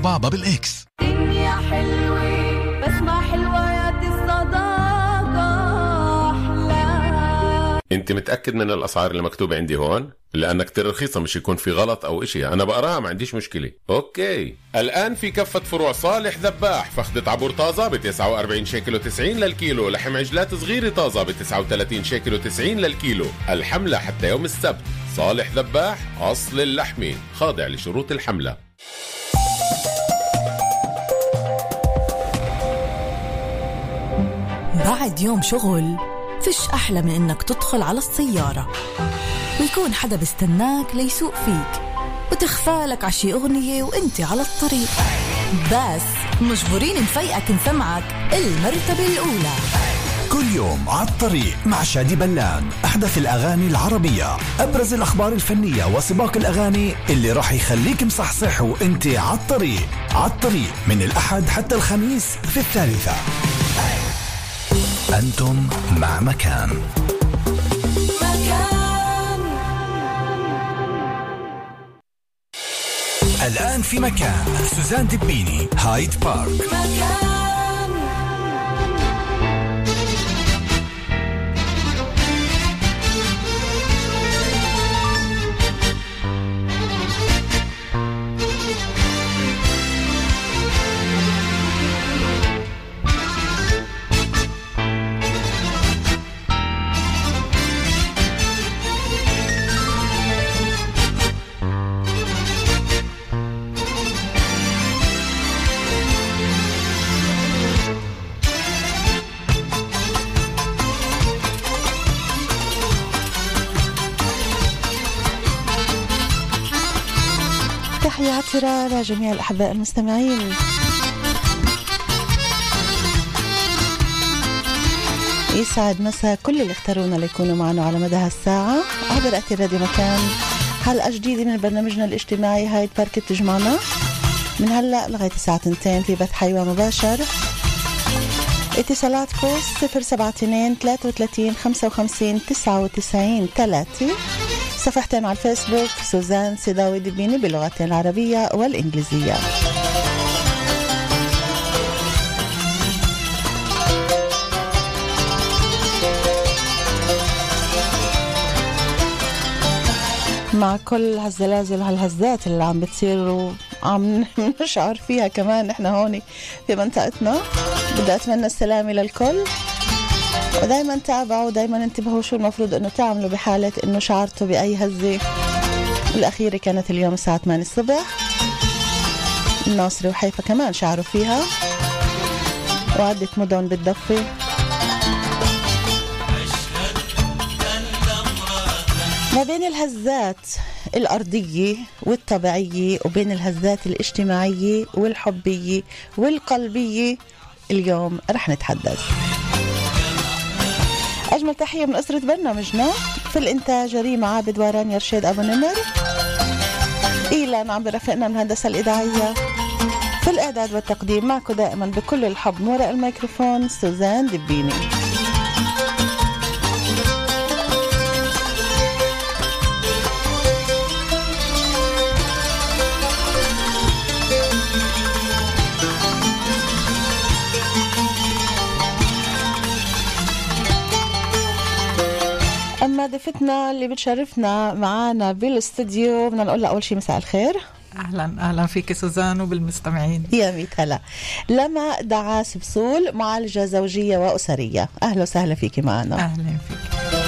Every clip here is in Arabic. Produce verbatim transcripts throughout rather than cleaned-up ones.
بابا بالإكس. دنيا حلوة بس ما حلويات الصداقة أحلى. انت متأكد من الأسعار اللي مكتوبة عندي هون؟ لأنها كتير رخيصة، مش يكون في غلط أو إشي. أنا بقراها ما عنديش مشكلة. أوكي، الآن في كفة فروع صالح ذباح فخدة عبور طازة ب تسعة وأربعين شيكل وتسعين للكيلو، لحم عجلات صغيرة طازة ب تسعة وثلاثين شيكل وتسعين للكيلو. الحملة حتى يوم السبت. صالح ذباح، أصل اللحمة، خاضع لشروط الحملة. بعد يوم شغل فيش أحلى من إنك تدخل على السيارة ويكون حدا بيستناك ليسوق فيك وتخفالك عشي أغنية وإنت على الطريق، بس مجبورين نفيقك نسمعك المرتبة الأولى. كل يوم على الطريق مع شادي بلان، أحدث الأغاني العربية، أبرز الأخبار الفنية وسباق الأغاني اللي راح يخليك مصحصح وإنت على الطريق. على الطريق من الأحد حتى الخميس في الثالثة. أنتم مع مكان. مكان الآن في مكان سوزان دبيني، هايد بارك. مكان تحياتنا لجميع الأحباء المستمعين. يسعد مساء كل اللي اختارونا ليكونوا معنا على مدى هالساعة عبر أثير راديو مكان. حلقة جديدة من برنامجنا الاجتماعي هايد بارك تجمعنا من هلأ لغاية الساعة اثنتين في بث حي مباشر. اتصالاتكم صفر سبعة اثنين ثلاثة وثلاثين خمسة وخمسين تسعة وتسعين ثلاثة. صفحتين على الفيسبوك سوزان سيداوي دبيني باللغتين العربية والإنجليزية. مع كل هالزلازل وهالهزات اللي عم بتصير وعم نشعر فيها كمان احنا هوني في منطقتنا، بدي أتمنى السلامة للكل، ودايما تابعوا ودايما انتبهوا شو المفروض انه تعملوا بحالة انه شعرتوا بأي هزة. الأخيرة كانت اليوم الساعة ثمانية الصبح، الناصري وحيفا كمان شعروا فيها، وعدة مدن بالضفة. ما بين الهزات الأرضية والطبيعية وبين الهزات الاجتماعية والحبية والقلبية اليوم رح نتحدث. أجمل تحية من أسرة برنامجنا في الإنتاج ريما عابد وران يرشد أبو نمر، إيلان عم برفقنا من الهندسة الإذاعية، في الإعداد والتقديم معكم دائما بكل الحب من وراء الميكروفون سوزان دبيني. أما ضيفتنا اللي بتشرفنا معانا بالاستوديو بدنا نقول لها أول شيء مساء الخير. أهلا أهلا فيك سوزان وبالمستمعين. يا ميت هلا. لما دعاس بصول، معالجة زوجية وأسرية، أهلا وسهلا فيكي معنا. أهلا فيك.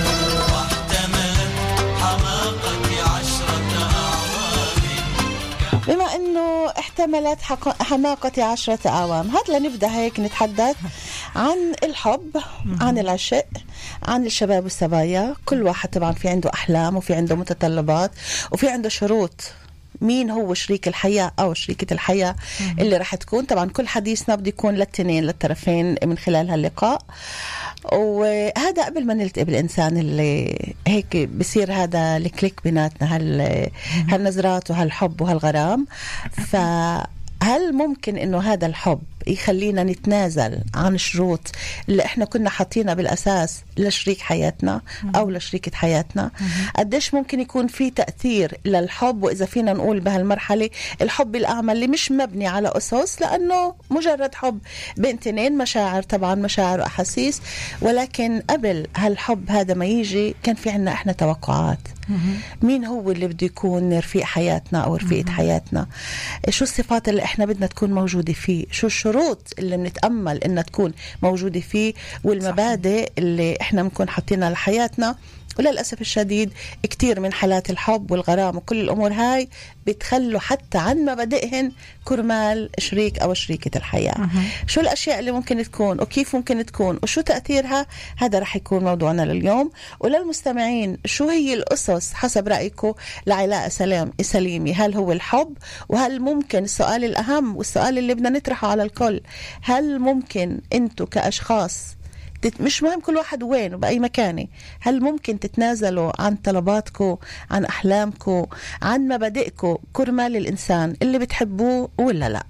بما أنه احتملت حماقة عشرة أعوام، هات لنبدأ هيك نتحدث عن الحب، عن العشق، عن الشباب والسبايا. كل واحد طبعا في عنده أحلام وفي عنده متطلبات وفي عنده شروط مين هو شريك الحياة أو شريكة الحياة اللي رح تكون. طبعا كل حديثنا بده يكون للتنين للطرفين من خلال هاللقاء، وهذا قبل ما نلتقي بالإنسان اللي هيك بصير هذا الكليك بيناتنا، هال هالنظرات وهالحب وهالغرام. فهل ممكن إنه هذا الحب يخلينا نتنازل عن شروط اللي احنا كنا حاطينها بالأساس لشريك حياتنا أو لشريكة حياتنا. قديش ممكن يكون في تأثير للحب، وإذا فينا نقول بهالمرحلة الحب الأعمى اللي مش مبني على أسس، لأنه مجرد حب بين تنين، مشاعر طبعا، مشاعر وأحاسيس، ولكن قبل هالحب هذا ما يجي كان في عنا احنا توقعات. مين هو اللي بده يكون رفيق حياتنا أو رفيقة حياتنا؟ شو الصفات اللي احنا بدنا تكون موجودة فيه؟ شو الشروط اللي بنتأمل إنها تكون موجودة فيه؟ والمبادئ اللي احنا بنكون حاطينها لحياتنا. وللأسف الشديد كتير من حالات الحب والغرام وكل الأمور هاي بتخلوا حتى عن مبادئهن كرمال شريك أو شريكة الحياة. أه. شو الأشياء اللي ممكن تكون وكيف ممكن تكون وشو تأثيرها؟ هذا رح يكون موضوعنا لليوم. وللمستمعين، شو هي الأسس حسب رأيكم لعلاقة سلام سليمة؟ هل هو الحب؟ وهل ممكن، السؤال الأهم والسؤال اللي بدنا نطرحه على الكل، هل ممكن أنتوا كأشخاص، مش مهم كل واحد وين وبأي مكان، هل ممكن تتنازلوا عن طلباتكم، عن أحلامكم، عن مبادئكم كرمال الإنسان اللي بتحبوه ولا لا؟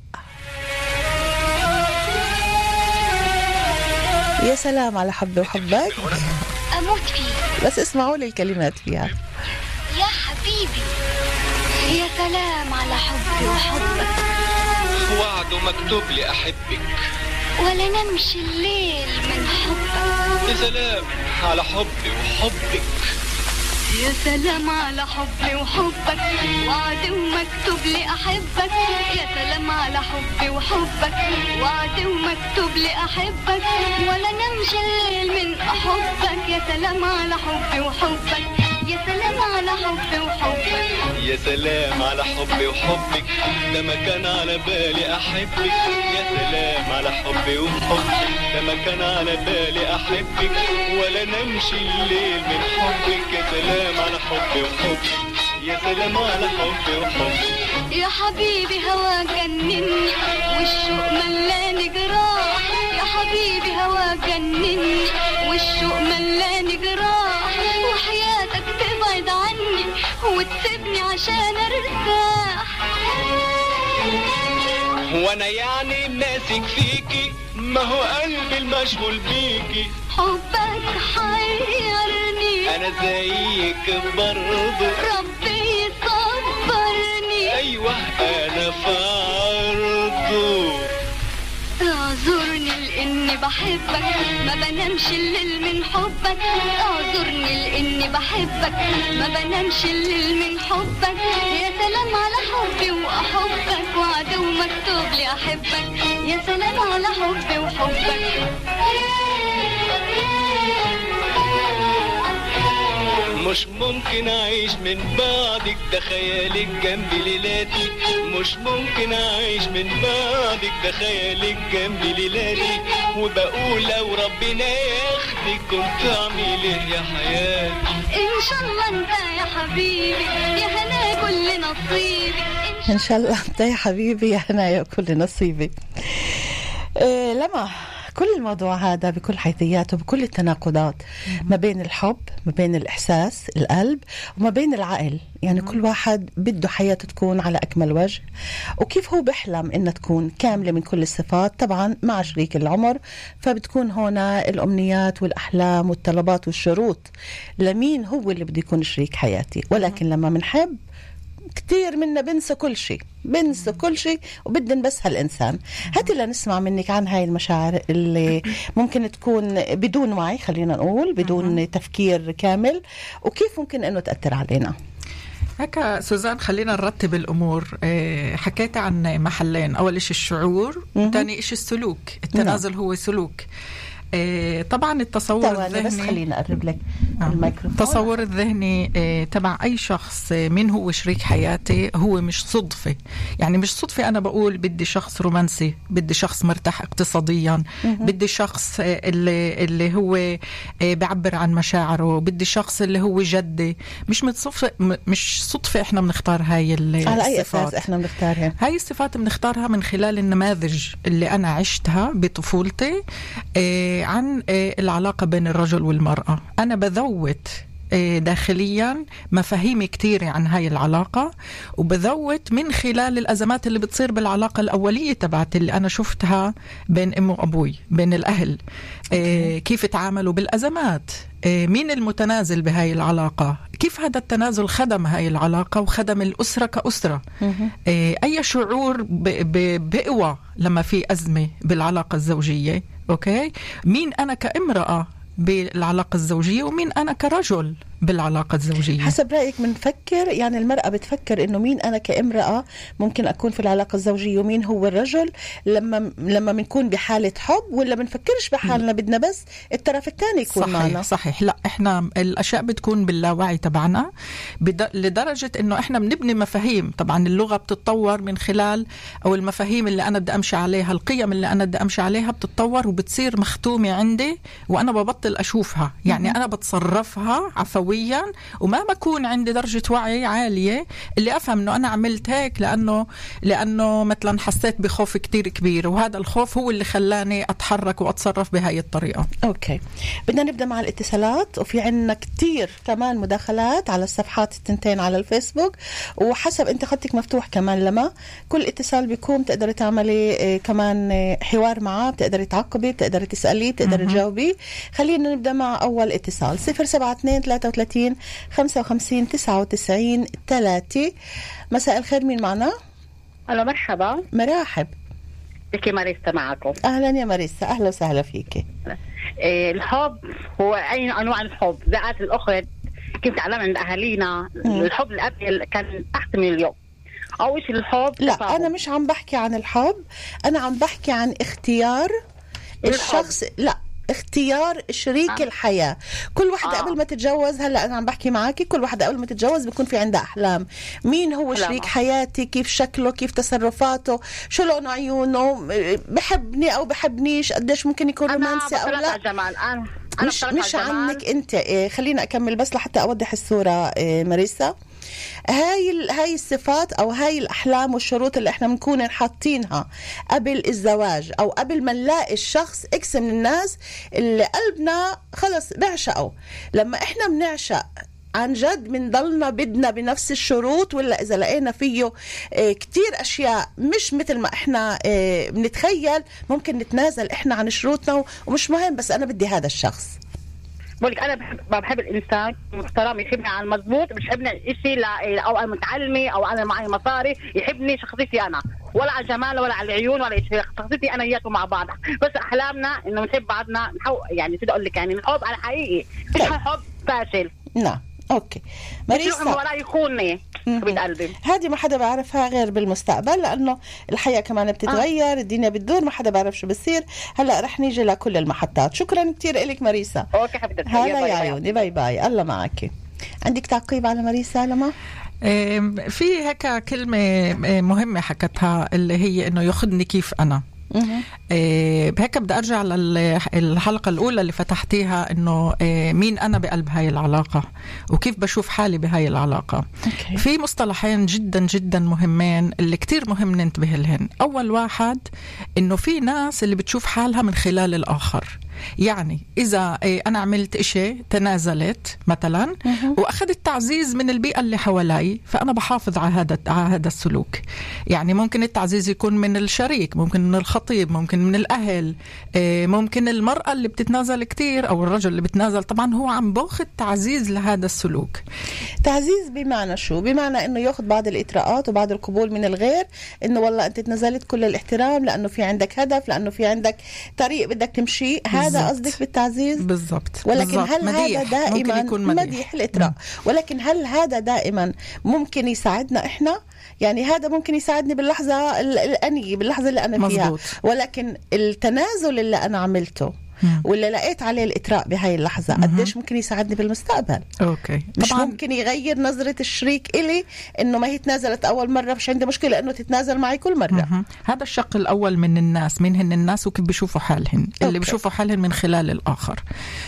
يا سلام على حبي وحبك، أموت فيه، بس اسمعوا لي الكلمات فيها. يا حبيبي، يا سلام على حبي وحبك، وعد مكتوب لي أحبك، ولا نمشي الليل من حبك. يا سلام على حبي وحبك، يا سلام على حبي وحبك، وعد ومكتوب لي أحبك. يا سلام على حبي وحبك، وعد ومكتوب لي أحبك، ولا نمشي الليل من حبك. يا سلام على حبي وحبك، يا سلام على حبي وحبك، يا سلام على حبي وحبك، ده ما كان على بالي أحبك. يا سلام على حبي وحبك، ده ما كان على بالي أحبك، ولا نمشي الليل من حبك. يا سلام على حبي وحبك، يا سلام على حبي وحبك. يا حبيبي هوا جنني والشوق ملاني جراح. يا حبيبي هوا جنني والشوق ملاني جراح، وحياتك تبعد عني وتسيبني عشان ارتاح. وانا يعني ماسك فيكي، ما هو قلبي المشغول بيكي. حبك حيرني، انا زيك برضه، ربي يصبرني. ايوه انا فرضه. اعذرني لاني بحبك، ما بنامش الليل من حبك. اعذرني لاني بحبك، ما بنامش الليل من حبك. يا سلام على حبي واحبك، وعد ومكتوب لي احبك. يا سلام على حبي وحبك. مش ممكن أعيش من بعدك، ده خيالك جنبي ليلاتي. مش ممكن أعيش من بعدك، ده خيالك جنبي ليلاتي. وبقول لو ربنا ياخدك كنت أعمل إيه يا حياتي؟ إن شاء الله أنت يا حبيبي، يا هنا كل نصيبي. إن شاء الله أنت يا حبيبي، يا هنا يا كل نصيبي. إيه لما كل الموضوع هذا بكل حيثياته، بكل التناقضات ما بين الحب، ما بين الإحساس القلب، وما بين العقل. يعني كل واحد بده حياته تكون على أكمل وجه، وكيف هو بيحلم إنها تكون كاملة من كل الصفات طبعا مع شريك العمر. فبتكون هنا الأمنيات والأحلام والطلبات والشروط لمين هو اللي بده يكون شريك حياتي. ولكن لما منحب كتير منا بنسى كل شيء، بنسى كل شيء وبدن بس هالإنسان. هاتي لنسمع منك عن هاي المشاعر اللي ممكن تكون بدون وعي، خلينا نقول بدون تفكير كامل، وكيف ممكن أنه تأثر علينا. هكا سوزان، خلينا نرتب الأمور. حكيت عن محلين، أول إيش الشعور، ثاني إيش السلوك. التنازل هو سلوك. إيه طبعا التصور الذهني، بس خلينا أقرب لك آه. الميكروفون. التصور الذهني إيه تبع أي شخص من هو شريك حياتي هو مش صدفة. يعني مش صدفة أنا بقول بدي شخص رومانسي، بدي شخص مرتاح اقتصاديا، بدي شخص اللي, اللي هو إيه بيعبر عن مشاعره، بدي شخص اللي هو جدي. مش صدفة، مش صدفة إحنا بنختار هاي الصفات. على أي أساس إحنا بنختارها؟ هاي الصفات بنختارها من خلال النماذج اللي أنا عشتها بطفولتي إيه عن العلاقة بين الرجل والمرأة. أنا بذوت داخليا مفاهيم كتيرة عن هاي العلاقة، وبذوت من خلال الأزمات اللي بتصير بالعلاقة الأولية تبعت اللي أنا شفتها بين أم وأبوي، بين الأهل، كيف تعاملوا بالأزمات، مين المتنازل بهاي العلاقة، كيف هذا التنازل خدم هاي العلاقة وخدم الأسرة كأسرة، أي شعور بقوة لما في أزمة بالعلاقة الزوجية. أوكي، مين أنا كامرأة بالعلاقة الزوجية ومين أنا كرجل بالعلاقة الزوجية. حسب رأيك بنفكر يعني المرأة بتفكر إنه مين أنا كامرأة ممكن أكون في العلاقة الزوجية ومين هو الرجل لما لما بنكون بحالة حب، ولا بنفكرش بحالنا بدنا بس الطرف الثاني يكون صحيح معنا؟ صحيح. لا، إحنا الأشياء بتكون باللاوعي تبعنا بد... لدرجة إنه إحنا بنبني مفاهيم. طبعا اللغة بتتطور من خلال، أو المفاهيم اللي أنا بدي أمشي عليها، القيم اللي أنا بدي أمشي عليها بتتطور وبتصير مختومة عندي، وأنا ببطل أشوفها. يعني أنا بتصرفها عفويا وما بكون عندي درجة وعي عالية اللي أفهم أنه أنا عملت هيك لأنه لأنه مثلا حسيت بخوف كتير كبير، وهذا الخوف هو اللي خلاني أتحرك وأتصرف بهاي الطريقة. أوكي، بدنا نبدأ مع الاتصالات، وفي عنا كتير كمان مداخلات على الصفحات التنتين على الفيسبوك، وحسب أنت خطك مفتوح كمان، لما كل اتصال بيكون تقدر تعملي كمان حوار معاه، بتقدر تعقبي، بتقدر تسألي، بتقدر تجاوبي. خلينا نبدأ مع أول اتصال. صفر سبعة اثنين ثلاثة وثلاثين خمسة وخمسين تسعة وتسعين ثلاثة. مساء الخير، مين معنا؟ ألو، مرحبا. مرحب بكي ماريسا معكم. أهلا يا ماريسا، أهلا وسهلا فيك. إيه الحب هو أي أنواع الحب؟ ذات الأخرى كيف تعلم عند أهالينا الحب الأبي كان تحت من اليوم، أو إيش الحب؟ لا تفاهم. أنا مش عم بحكي عن الحب، أنا عم بحكي عن اختيار الشخص. لا، اختيار شريك آه. الحياة. كل واحدة آه. قبل ما تتجوز، هلأ أنا عم بحكي معاكي، كل واحدة قبل ما تتجوز بيكون في عندها أحلام. مين هو أحلام. شريك حياتي، كيف شكله، كيف تصرفاته، شو لون عيونه، بحبني أو بحبنيش، قديش ممكن يكون رومانسي أو لا. جمال. أنا مش, مش عنك أنت. إيه خلينا أكمل بس لحتى أوضح الصورة. إيه ماريسا، هاي هاي الصفات او هاي الاحلام والشروط اللي احنا بنكون حاطينها قبل الزواج او قبل ما نلاقي الشخص. اكس من الناس اللي قلبنا خلص نعشقه، لما احنا بنعشق عن جد بنضلنا بدنا بنفس الشروط، ولا إذا لقينا فيه اه كتير أشياء مش مثل ما إحنا اه بنتخيل، ممكن نتنازل إحنا عن شروطنا ومش مهم، بس أنا بدي هذا الشخص. بقولك أنا بحب بحب الإنسان محترم، يحبني على المضبوط، مش يحبني إشي لا، أو أنا متعلمة أو أنا معي مصاري، يحبني شخصيتي أنا، ولا على الجمال ولا على العيون ولا إشي، شخصيتي أنا إياكم مع بعض. بس أحلامنا إنه نحب بعضنا، نحو يعني بدي أقول لك يعني الحب على حقيقي، مش حب فاشل. نعم أوكي ماريسا، ولا يخونني بقلبي. هذه ما حدا بيعرفها غير بالمستقبل، لأنه الحياة كمان بتتغير. آه. الدنيا بتدور، ما حدا بيعرف شو بصير. هلا رح نيجي لكل المحطات. شكرا كتير إلك ماريسا. أوكي حبيبتي، هلا يا عيوني، باي باي، الله معك. عندك تعقيب على ماريسا لما؟ في هيك كلمة مهمة حكتها اللي هي إنه ياخذني كيف أنا. إيه بهيك بدي أرجع للحلقة الأولى اللي فتحتيها، إنه إيه مين أنا بقلب هاي العلاقة وكيف بشوف حالي بهاي العلاقة. أوكي. في مصطلحين جدا جدا مهمين اللي كتير مهم ننتبه لهن. أول واحد إنه في ناس اللي بتشوف حالها من خلال الآخر. يعني إذا إيه أنا عملت إشي، تنازلت مثلا وأخذت تعزيز من البيئة اللي حوالي، فأنا بحافظ على هذا على هذا السلوك. يعني ممكن التعزيز يكون من الشريك، ممكن من الخطيب، ممكن من الأهل، إيه ممكن المرأة اللي بتتنازل كتير أو الرجل اللي بتنازل. طبعا هو عم باخذ تعزيز لهذا السلوك. تعزيز بمعنى شو؟ بمعنى إنه يأخذ بعض الإطراءات وبعض القبول من الغير، إنه والله أنت تنازلت، كل الاحترام لأنه في عندك هدف، لأنه في عندك طريق بدك تمشي. هذا قصدك بالتعزيز؟ بالضبط. ولكن بالزبط. هل مديح. هذا دائما مديح, مديح الإطراء؟ ولكن هل هذا دائما ممكن يساعدنا إحنا؟ يعني هذا ممكن يساعدني باللحظة الأنية، باللحظة اللي أنا فيها. مزبوط. ولكن التنازل اللي أنا عملته ولا لقيت عليه الإطراء بهاي اللحظة قديش ممكن يساعدني بالمستقبل؟ أوكي. مش طبعاً ممكن يغير نظرة الشريك إلي إنه ما هي تنازلت أول مرة مش عندي مشكلة إنه تتنازل معي كل مرة. مه. هذا الشق الأول من الناس، مين هن الناس وكيف بيشوفوا حالهن. أوكي. اللي بيشوفوا حالهن من خلال الآخر.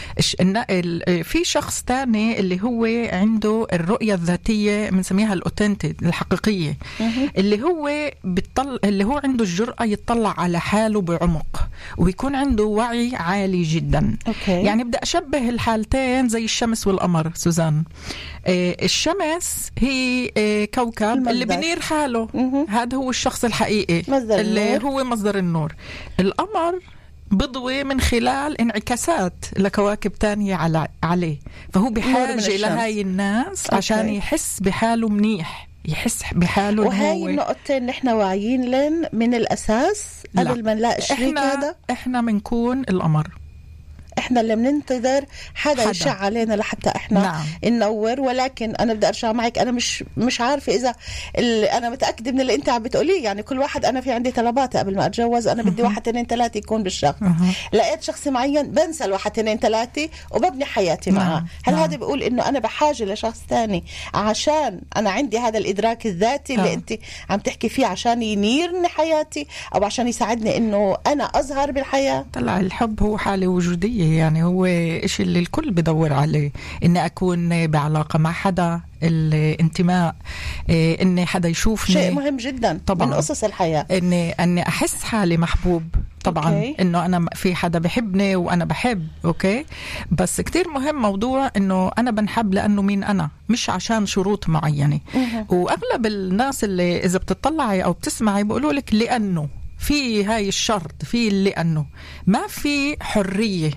في شخص تاني اللي هو عنده الرؤية الذاتية بنسميها الأوتنتي، الحقيقية. مه. اللي هو بيطلع، اللي هو عنده الجرأة يطلع على حاله بعمق ويكون عنده وعي عالي عالي جدا. أوكي. يعني بدي أشبه الحالتين زي الشمس والقمر سوزان. آه الشمس هي آه كوكب المصدر. اللي بنير حاله، هذا هو الشخص الحقيقي مصدر اللي النور. هو مصدر النور. القمر بضوي من خلال انعكاسات لكواكب تانية على عليه، فهو بحاجة لهاي الناس أوكي. عشان يحس بحاله منيح، يحس بحاله. وهاي النقطتين نحن واعيين لن من الأساس قبل ما نلاقي الشريك هذا. احنا منكون القمر، احنا اللي بننتظر حدا, حدا يشع علينا لحتى احنا نعم. ننور. ولكن انا بدي ارجع معك، انا مش مش عارفه اذا انا متاكده من اللي انت عم بتقوليه. يعني كل واحد، انا في عندي طلبات قبل ما اتجوز، انا بدي واحد اثنين ثلاثه يكون بالشهر. لقيت شخص معين بنسى الواحد اثنين ثلاثه وببني حياتي معه. نعم. هل نعم. هذا بيقول انه انا بحاجه لشخص ثاني عشان انا عندي هذا الادراك الذاتي اللي انت عم تحكي فيه، عشان ينيرني حياتي او عشان يساعدني انه انا اظهر بالحياه؟ طلع الحب هو حاله وجوديه، يعني هو إشي اللي الكل بدور عليه، إني أكون بعلاقة مع حدا، الانتماء، إني حدا يشوفني، شيء مهم جدا طبعا من قصص الحياة. إني أني أحس حالي محبوب طبعا. أوكي. إنه أنا في حدا بحبني وأنا بحب. أوكي. بس كتير مهم موضوع إنه أنا بنحب لأنه مين أنا، مش عشان شروط معينة. وأغلب الناس اللي إذا بتطلعي أو بتسمعي بيقولوا لك لأنه في هاي الشرط، في لأنه ما في حرية،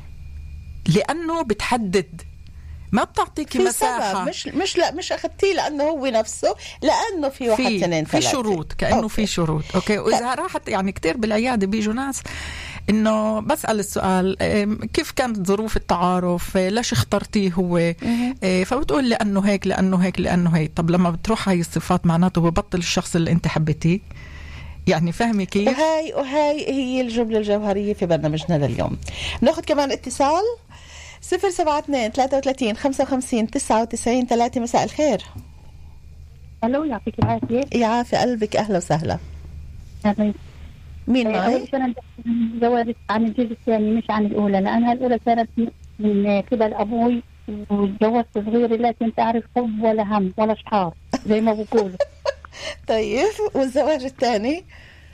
لأنه بتحدد، ما بتعطيكي مساحة. سبب. مش مش لا مش أخذتيه لأنه هو نفسه، لأنه في واحد في اثنين في شروط، كأنه أوكي. في شروط. أوكي. وإذا راحت يعني كتير بالعيادة بيجوا ناس إنه بسأل السؤال كيف كانت ظروف التعارف، ليش اخترتيه هو، فبتقول لأنه هيك لأنه هيك لأنه هيك. طب لما بتروح هاي الصفات معناته ببطل الشخص اللي أنت حبيتيه. يعني فهمي كيف؟ وهاي وهاي هي الجملة الجوهرية في برنامجنا لليوم. ناخد كمان اتصال صفر سبعة اثنين ثلاثة وثلاثين خمسة وخمسين تسعة وتسعين ثلاثة. مساء الخير. ألو، يعطيك العافية. يعافي قلبك، أهلا وسهلا. مين معي؟ أنا زواجت عن الجيل الثاني مش عن الأولى، لأنها الأولى كانت من قبل أبوي وتجوزت صغيرة، لكن تعرف حب ولا هم ولا شحار زي ما بقولوا. طيب والزواج الثاني؟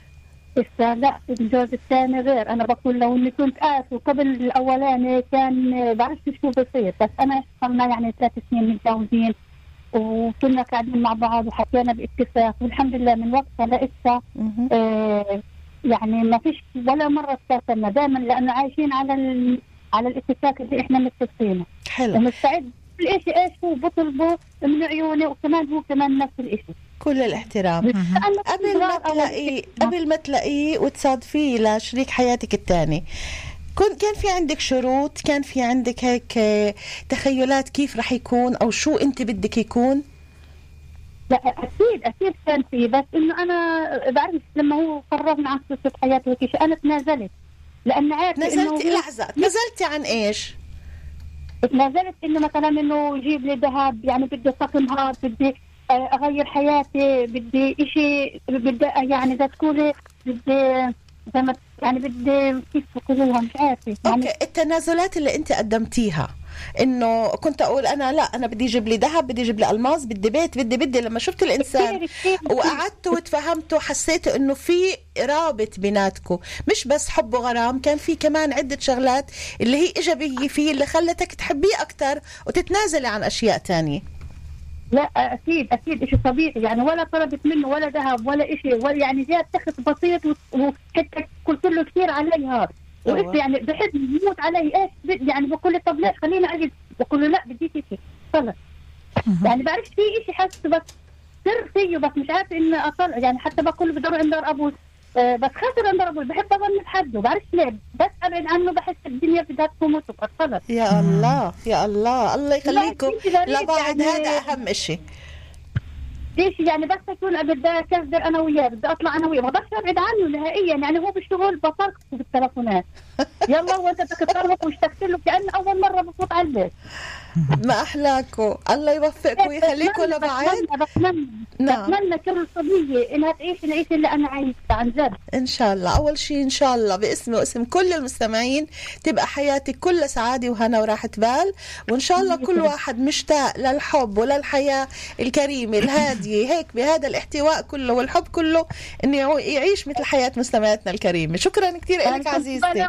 لا، الجواز الثاني غير. أنا بقول لو إني كنت قاسي وقبل الأولاني كان بعرفش شو بصير، بس أنا صرنا يعني ثلاث سنين متجوزين وكنا قاعدين مع بعض وحكينا باتفاق، والحمد لله من وقتها لقيتها آه يعني ما فيش ولا مرة استرسلنا دائما، لأنه عايشين على ال... على الاتفاق اللي إحنا متفقينه. حلو. ومستعد كل إشي إيش هو بطلبه من عيوني، وكمان هو كمان نفس الإشي. كل الاحترام. قبل ما تلاقيه قبل ما تلاقيه وتصادفيه لشريك حياتك الثاني، كنت كان في عندك شروط، كان في عندك هيك تخيلات كيف رح يكون أو شو أنت بدك يكون؟ لا أكيد أكيد كان في، بس إنه أنا بعرف لما هو قررنا عن قصة حياته وكيش أنا تنازلت، لأن عارف نزلتي لحظة نزلتي عن إيش؟ تنازلت إنه مثلا إنه يجيب لي ذهب، يعني بدي طقم هاد، بدي أغير حياتي، بدي إشي، بدي يعني إذا تقولي بدي زي ما يعني بدي كيف تقولوها مش عارفة. يعني أوكي. التنازلات اللي أنت قدمتيها إنه كنت أقول أنا لا أنا بدي يجيب لي ذهب، بدي يجيب لي ألماس، بدي بيت، بدي بدي لما شفت الإنسان وقعدت وتفهمت وحسيت إنه في رابط بيناتكم، مش بس حب وغرام، كان في كمان عدة شغلات اللي هي إيجابية فيه اللي خلتك تحبيه أكتر وتتنازلي عن أشياء تانية. لا أكيد أكيد إشي طبيعي، يعني ولا طلبت منه ولا ذهب ولا إشي، ولا يعني جاء تخت بسيط وحتى قلت له كثير علي هذا وإنت يعني بحب يموت علي إيش يعني بقول له طب ليش خليني أجد، بقول له لا بديك إشي خلص. يعني بعرف في إشي حاسة بس سر فيه، بس مش عارف إن أطلع، يعني حتى بقول له بدور عند أبوي أه بس خاطر عند أبوي بحب أظن بحده، بعرفش ليه بس أبعد عنه بحس الدنيا بدها تقوم وتقعد خلص. يا الله يا الله الله يخليكم لبعض، يعني هذا أهم إشي. ليش يعني بس أكون بدي أكذب أنا وياه، بدي أطلع أنا وياه، ما بقدرش أبعد عنه نهائيا، يعني هو بالشغل بطلق بالتلفونات يلا وأنت بدك تطلق واشتكت له كأنه أول مرة بفوت على البيت. ما أحلاكم، الله يوفقكم ويخليكم لبعض. بتمنى نعم. بتمنى كل صبية إنها تعيش العيش اللي أنا عايشة عن جد. إن شاء الله. أول شيء إن شاء الله باسمي واسم كل المستمعين تبقى حياتك كلها سعادة وهنا وراحة بال، وإن شاء الله كل واحد مشتاق للحب وللحياة الكريمة الهادية هيك بهذا الاحتواء كله والحب كله، إنه يعيش مثل حياة مستمعاتنا الكريمة. شكرا كثير لك عزيزتي.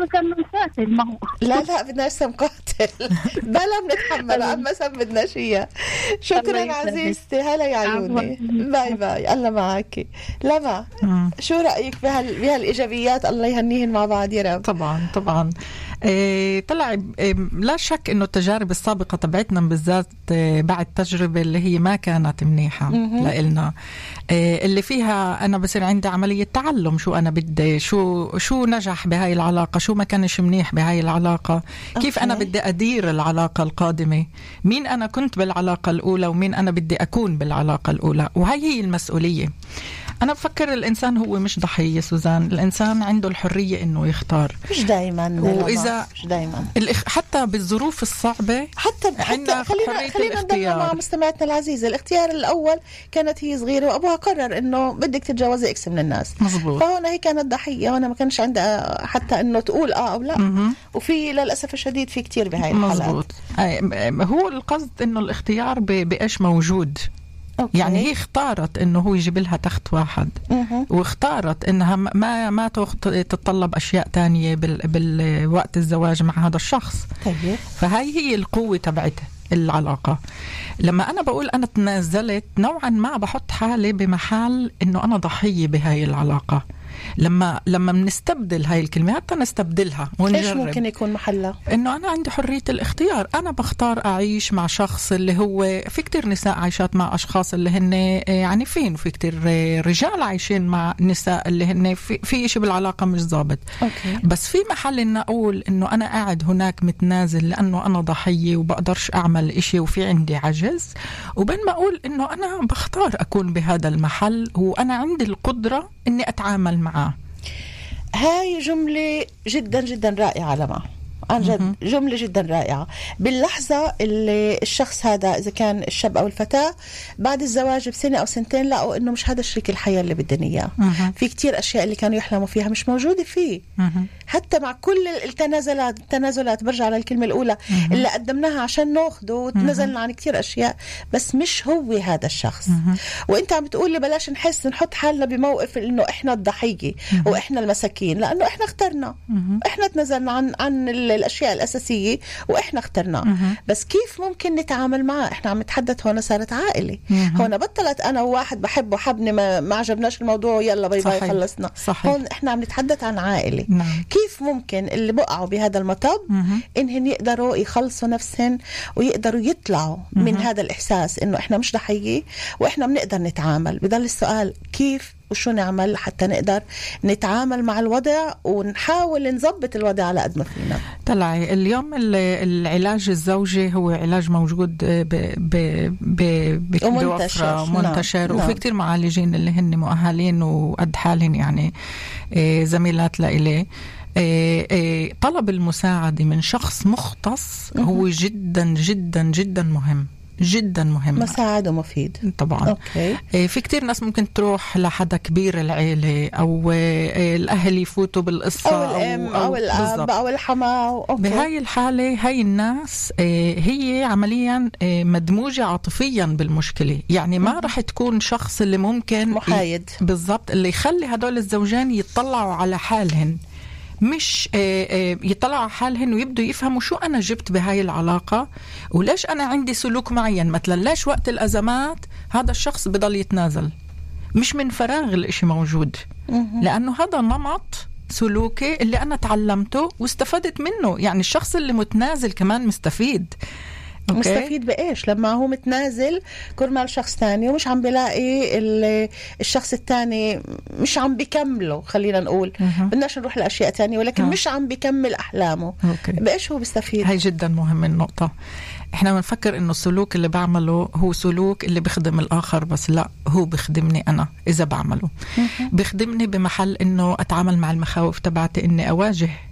لا لا بدنا سم قاتل بلا بنتحمل، أما سم بدنا شيء. شكرا عزيزتي، هلا يا عيوني، باي باي، الله معك. لما شو رأيك بهال بهالإيجابيات؟ الله يهنيهن مع بعض يا رب. طبعا طبعا. إيه طلع إيه لا شك إنه التجارب السابقة تبعتنا بالذات إيه بعد تجربة اللي هي ما كانت منيحة لإلنا، إيه اللي فيها أنا بصير عندي عملية تعلم شو أنا بدي، شو شو نجح بهاي العلاقة، شو ما كانش منيح بهاي العلاقة، كيف أنا بدي أدير العلاقة القادمة، مين أنا كنت بالعلاقة الأولى ومين أنا بدي أكون بالعلاقة الأولى، وهي هي المسؤولية. أنا بفكر الإنسان هو مش ضحية سوزان، الإنسان عنده الحرية إنه يختار، مش دايما، وإذا مش دايما حتى بالظروف الصعبة حتى حتى خلينا خلينا نضل مع مستمعتنا العزيزة. الاختيار الأول كانت هي صغيرة وأبوها قرر إنه بدك تتجوزي إكس من الناس، مزبوط. فهنا هي كانت ضحية، وأنا ما كانش عندها حتى إنه تقول آه أو لا. م-م. وفي للأسف الشديد في كتير بهاي الحالات. مزبوط. هو القصد إنه الاختيار بإيش موجود. أوكي. يعني هي اختارت انه هو يجيب لها تخت واحد، مه. واختارت انها ما ما تتطلب اشياء تانية بال بالوقت الزواج مع هذا الشخص. طيب. فهاي هي القوة تبعتها العلاقة. لما أنا بقول أنا تنازلت نوعا ما بحط حالي بمحل إنه أنا ضحية بهاي العلاقة. لما لما بنستبدل هاي الكلمة حتى نستبدلها ونجرب، إيش ممكن يكون محلها؟ إنه أنا عندي حرية الاختيار، أنا بختار أعيش مع شخص اللي هو في كتير نساء عايشات مع أشخاص اللي هن يعني فين، وفي كتير رجال عايشين مع نساء اللي هن في, في إشي بالعلاقة مش ضابط. أوكي. بس في محل إن أقول إنه أنا قاعد هناك متنازل لأنه أنا ضحية وبقدرش أعمل إشي وفي عندي عجز، وبين ما أقول إنه أنا بختار أكون بهذا المحل وأنا عندي القدرة إني أتعامل معاه. هاي جملة جدا جدا رائعة لما عن جد، جملة جدا رائعة. باللحظة اللي الشخص هذا إذا كان الشاب أو الفتاة بعد الزواج بسنة أو سنتين لقوا إنه مش هذا شريك الحياة اللي بدنا إياه، في كتير أشياء اللي كانوا يحلموا فيها مش موجودة فيه. مه. حتى مع كل التنازلات التنازلات برجع على الكلمة الأولى مه. اللي قدمناها عشان ناخده وتنزلنا عن كتير أشياء، بس مش هو هذا الشخص. مه. وإنت عم تقولي بلاش نحس نحط حالنا بموقف إنه إحنا الضحية مه. وإحنا المساكين، لأنه إحنا اخترنا، مه. إحنا تنزلنا عن عن الأشياء الأساسية وإحنا اخترنا. مه. بس كيف ممكن نتعامل معه؟ إحنا عم نتحدث هنا صارت عائلة، هنا بطلت أنا وواحد بحبه حبني ما, ما عجبناش الموضوع يلا باي باي خلصنا. صحيح. هون إحنا عم نتحدث عن عائلة. نعم. كيف ممكن اللي بقعوا بهذا المطب إنهن يقدروا يخلصوا نفسهم ويقدروا يطلعوا مه. من هذا الإحساس إنه إحنا مش ضحية وإحنا بنقدر نتعامل؟ بضل السؤال كيف وشو نعمل حتى نقدر نتعامل مع الوضع ونحاول نضبط الوضع على قد ما فينا. طلعي اليوم العلاج الزوجي هو علاج موجود بوفرة ومنتشر، وفي كتير معالجين اللي هن مؤهلين وقد حالهم يعني زميلات لإليه. طلب المساعدة من شخص مختص هو جدا جدا جدا مهم، جدا مهم، مساعد ومفيد طبعا. أوكي. في كتير ناس ممكن تروح لحدا كبير العيلة أو الأهل يفوتوا بالقصة أو الأم أو, أو الأب أو الحماة. بهاي الحالة هاي الناس هي عمليا مدموجة عاطفيا بالمشكلة، يعني ما رح تكون شخص اللي ممكن محايد ي... بالضبط اللي يخلي هدول الزوجين يطلعوا على حالهن، مش يطلعوا على حالهن ويبدوا يفهموا شو أنا جبت بهاي العلاقة وليش أنا عندي سلوك معين. مثلا ليش وقت الأزمات هذا الشخص بضل يتنازل؟ مش من فراغ الإشي موجود، لأنه هذا نمط سلوكي اللي أنا تعلمته واستفدت منه. يعني الشخص اللي متنازل كمان مستفيد. أوكي. مستفيد بإيش؟ لما هو متنازل كرمال شخص تاني ومش عم بلاقي الشخص التاني مش عم بيكمله، خلينا نقول بدناش نروح لأشياء تانية، ولكن أه. مش عم بيكمل أحلامه. أوكي. بإيش هو بيستفيد؟ هاي جدا مهم النقطة. احنا بنفكر انه السلوك اللي بعمله هو سلوك اللي بيخدم الاخر، بس لا، هو بيخدمني انا اذا بعمله. بيخدمني بمحل انه اتعامل مع المخاوف تبعتي، اني اواجه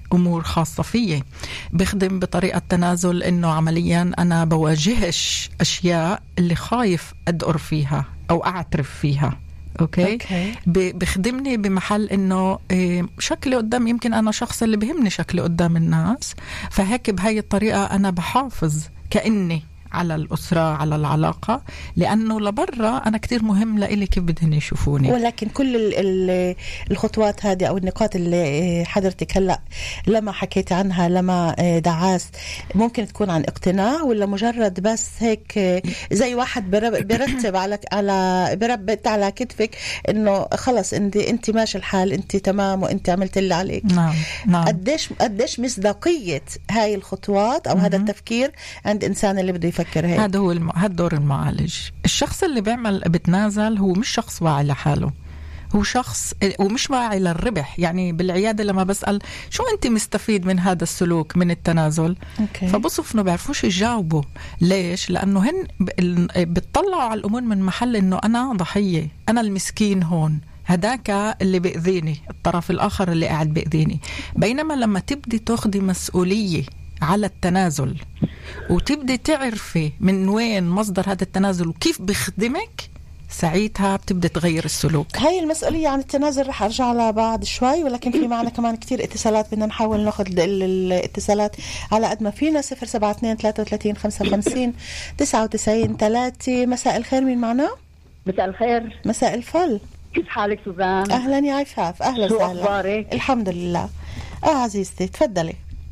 أمور خاصة فيي. بخدم بطريقة تنازل إنه عمليا أنا بواجهش أشياء اللي خايف أدقر فيها أو أعترف فيها. أوكي, أوكي. بخدمني بمحل إنه شكلي قدام، يمكن أنا شخص اللي بهمني شكلي قدام الناس، فهيك بهاي الطريقة أنا بحافظ كأني على الأسرة، على العلاقة، لأنه لبرا أنا كتير مهم لإلي كيف بدهن يشوفوني. ولكن كل ال ال الخطوات هذه أو النقاط اللي حضرتك هلأ لما حكيت عنها، لما دعاست، ممكن تكون عن اقتناع ولا مجرد بس هيك زي واحد برتب على على بربط على كتفك إنه خلص أنت أنت ماشي الحال، أنت تمام وأنت عملت اللي عليك. نعم نعم. قديش قديش مصداقية هاي الخطوات أو م- هذا التفكير عند إنسان اللي بده يفكر هيك؟ هذا هو الم... هذا دور المعالج. الشخص اللي بيعمل بتنازل هو مش شخص واعي لحاله، هو شخص ومش واعي للربح. يعني بالعيادة لما بسأل شو أنت مستفيد من هذا السلوك من التنازل، أوكي. فبصف إنه بيعرفوش يجاوبوا. ليش؟ لأنه هن بتطلعوا على الأمور من محل إنه أنا ضحية، أنا المسكين هون، هداك اللي بيأذيني، الطرف الآخر اللي قاعد بيأذيني. بينما لما تبدي تاخدي مسؤولية على التنازل وتبدي تعرفي من وين مصدر هذا التنازل وكيف بيخدمك، ساعتها بتبدأ تغير السلوك. هاي المسؤولية عن التنازل رح أرجع لها بعد شوي، ولكن في معنا كمان كتير اتصالات، بدنا نحاول ناخد الاتصالات على قد ما فينا. صفر سبعة اثنين ثلاثة وثلاثين خمسة وخمسين تسعة وتسعين ثلاثة. مساء الخير، مين معنا؟ مساء الخير. مساء الفل، كيف حالك سوزان؟ أهلا يا عفاف. أهلا شو وسهلا. أخبارك؟ الحمد لله. آه عزيزتي تفضلي.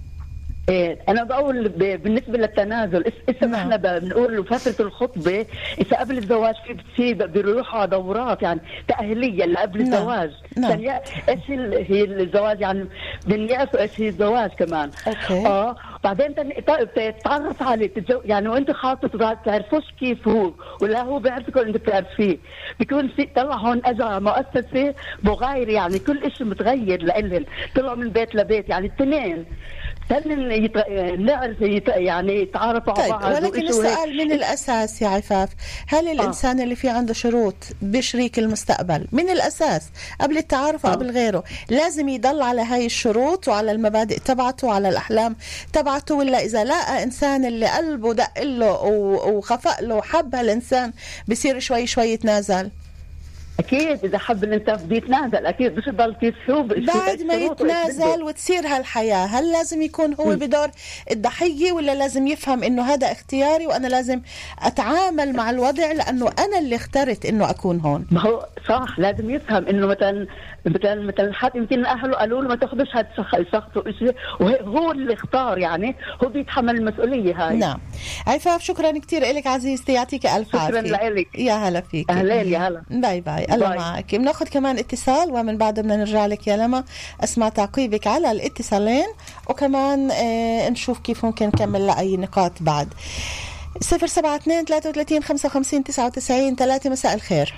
إيه أنا بقول بالنسبة للتنازل، إسا نعم. إحنا بنقول فترة الخطبة إذا قبل الزواج في بتصير بيروحوا على دورات يعني تأهيلية اللي قبل نعم. الزواج نعم. يعني إيش هي الزواج، يعني بنيأسوا إيش هي الزواج كمان. أوكي. آه بعدين تتعرف عليه تتزو... يعني وأنت خاطر تعرفوش كيف هو ولا هو بيعرفك ولا أنت بتعرفيه، بيكون في طلع هون أجا مؤسسة مغاير، يعني كل إشي متغير لإلهم، طلعوا من بيت لبيت يعني التنين يت... نعرف يت... يعني يتعارفوا طيب. على بعض. ولكن السؤال من الأساس يا عفاف، هل الإنسان آه. اللي فيه عنده شروط بشريك المستقبل من الأساس قبل التعارف وقبل آه. غيره لازم يضل على هاي الشروط وعلى المبادئ تبعته وعلى الأحلام تبعته، ولا إذا لقى إنسان اللي قلبه دق له وخفق له وحب هالإنسان بصير شوي شوي يتنازل؟ أكيد إذا حب الإنسان بده يتنازل، أكيد مش يضل كيسوب بعد ما يتنازل وتصير هالحياة. هل لازم يكون هو م. بدور الضحية ولا لازم يفهم إنه هذا اختياري وأنا لازم أتعامل مع الوضع لأنه أنا اللي اخترت إنه أكون هون؟ ما هو صح، لازم يفهم إنه مثلا مثلا مثلا حد يمكن أهله قالوا له ما تاخذش هذا الشخص وشيء وهو اللي اختار، يعني هو بيتحمل المسؤولية هاي. نعم. عفاف شكرا كتير لك عزيزتي، يعطيك ألف عافية. شكرا لك. يا هلا فيك. أهلين يا هلا. باي باي. الله معك. بناخذ كمان اتصال ومن بعد بدنا نرجع لك يا لما اسمع تعقيبك على الاتصالين وكمان اه نشوف كيف ممكن نكمل لأي نقاط بعد. صفر سبعة اثنين ثلاثة وثلاثين خمسة وخمسين تسعة وتسعين ثلاثة. مساء الخير.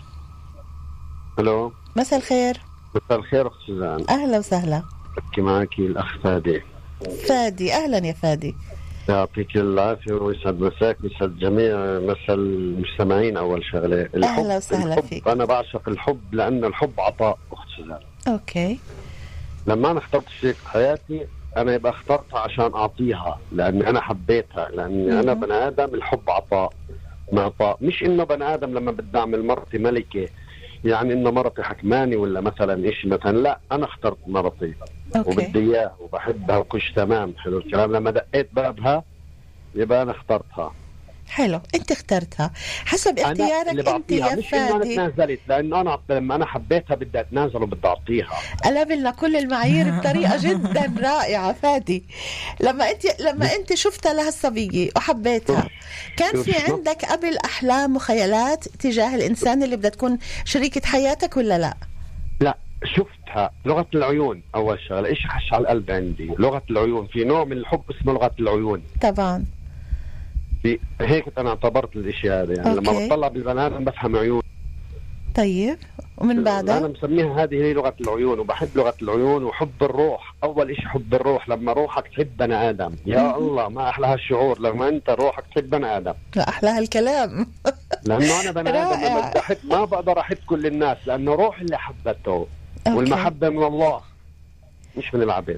الو. مساء الخير. مساء الخير أخت سوزان. أهلا وسهلا. أحكي معك الأخ فادي. فادي أهلا يا فادي. يعطيك العافية ويسعد مساك ويسعد جميع مسا المستمعين. أول شغلة أهلا وسهلا فيك. أنا بعشق الحب لأن الحب عطاء أخت سوزان. أوكي. لما أنا اخترت شريك حياتي أنا يبقى اخترتها عشان أعطيها لأني أنا حبيتها، لأني م- أنا بني آدم الحب عطاء معطاء، مش إنه بني آدم لما بدي أعمل مرتي ملكة يعني إنه مرتي حكماني ولا مثلا إيش مثلا، لا أنا اخترت مرتي أوكي. وبدي إياه وبحبها وكش تمام. حلو الكلام. لما دقيت بابها يبقى أنا اخترتها. حلو، أنت اخترتها حسب اختيارك أنت يا مش فادي. إنه أنا تنازلت، لأنه أنا لما أنا حبيتها بدي أتنازل وبدي أعطيها. قلبلنا كل المعايير بطريقة جدا رائعة فادي. لما أنت لما أنت شفتها لهالصبية وحبيتها، كان في عندك قبل أحلام وخيالات تجاه الإنسان اللي بدها تكون شريكة حياتك ولا لا؟ لا، شفتها لغة العيون. أول شغلة إيش خش على القلب عندي لغة العيون. في نوع من الحب اسمه لغة العيون. طبعا. في هيك أنا اعتبرت الإشي هذا يعني أوكي. لما بطلع بالبنات بفهم عيون. طيب ومن بعدها أنا مسميها هذه هي لغة العيون، وبحب لغة العيون وحب الروح. أول إشي حب الروح، لما روحك تحب بني آدم يا الله ما أحلى هالشعور لما أنت روحك تحب بني آدم. لا أحلى هالكلام. لأنه أنا بني آدم لما بدي أحب ما بقدر أحب كل الناس، لأنه روح اللي حبته. والمحبة من الله مش من العبيد.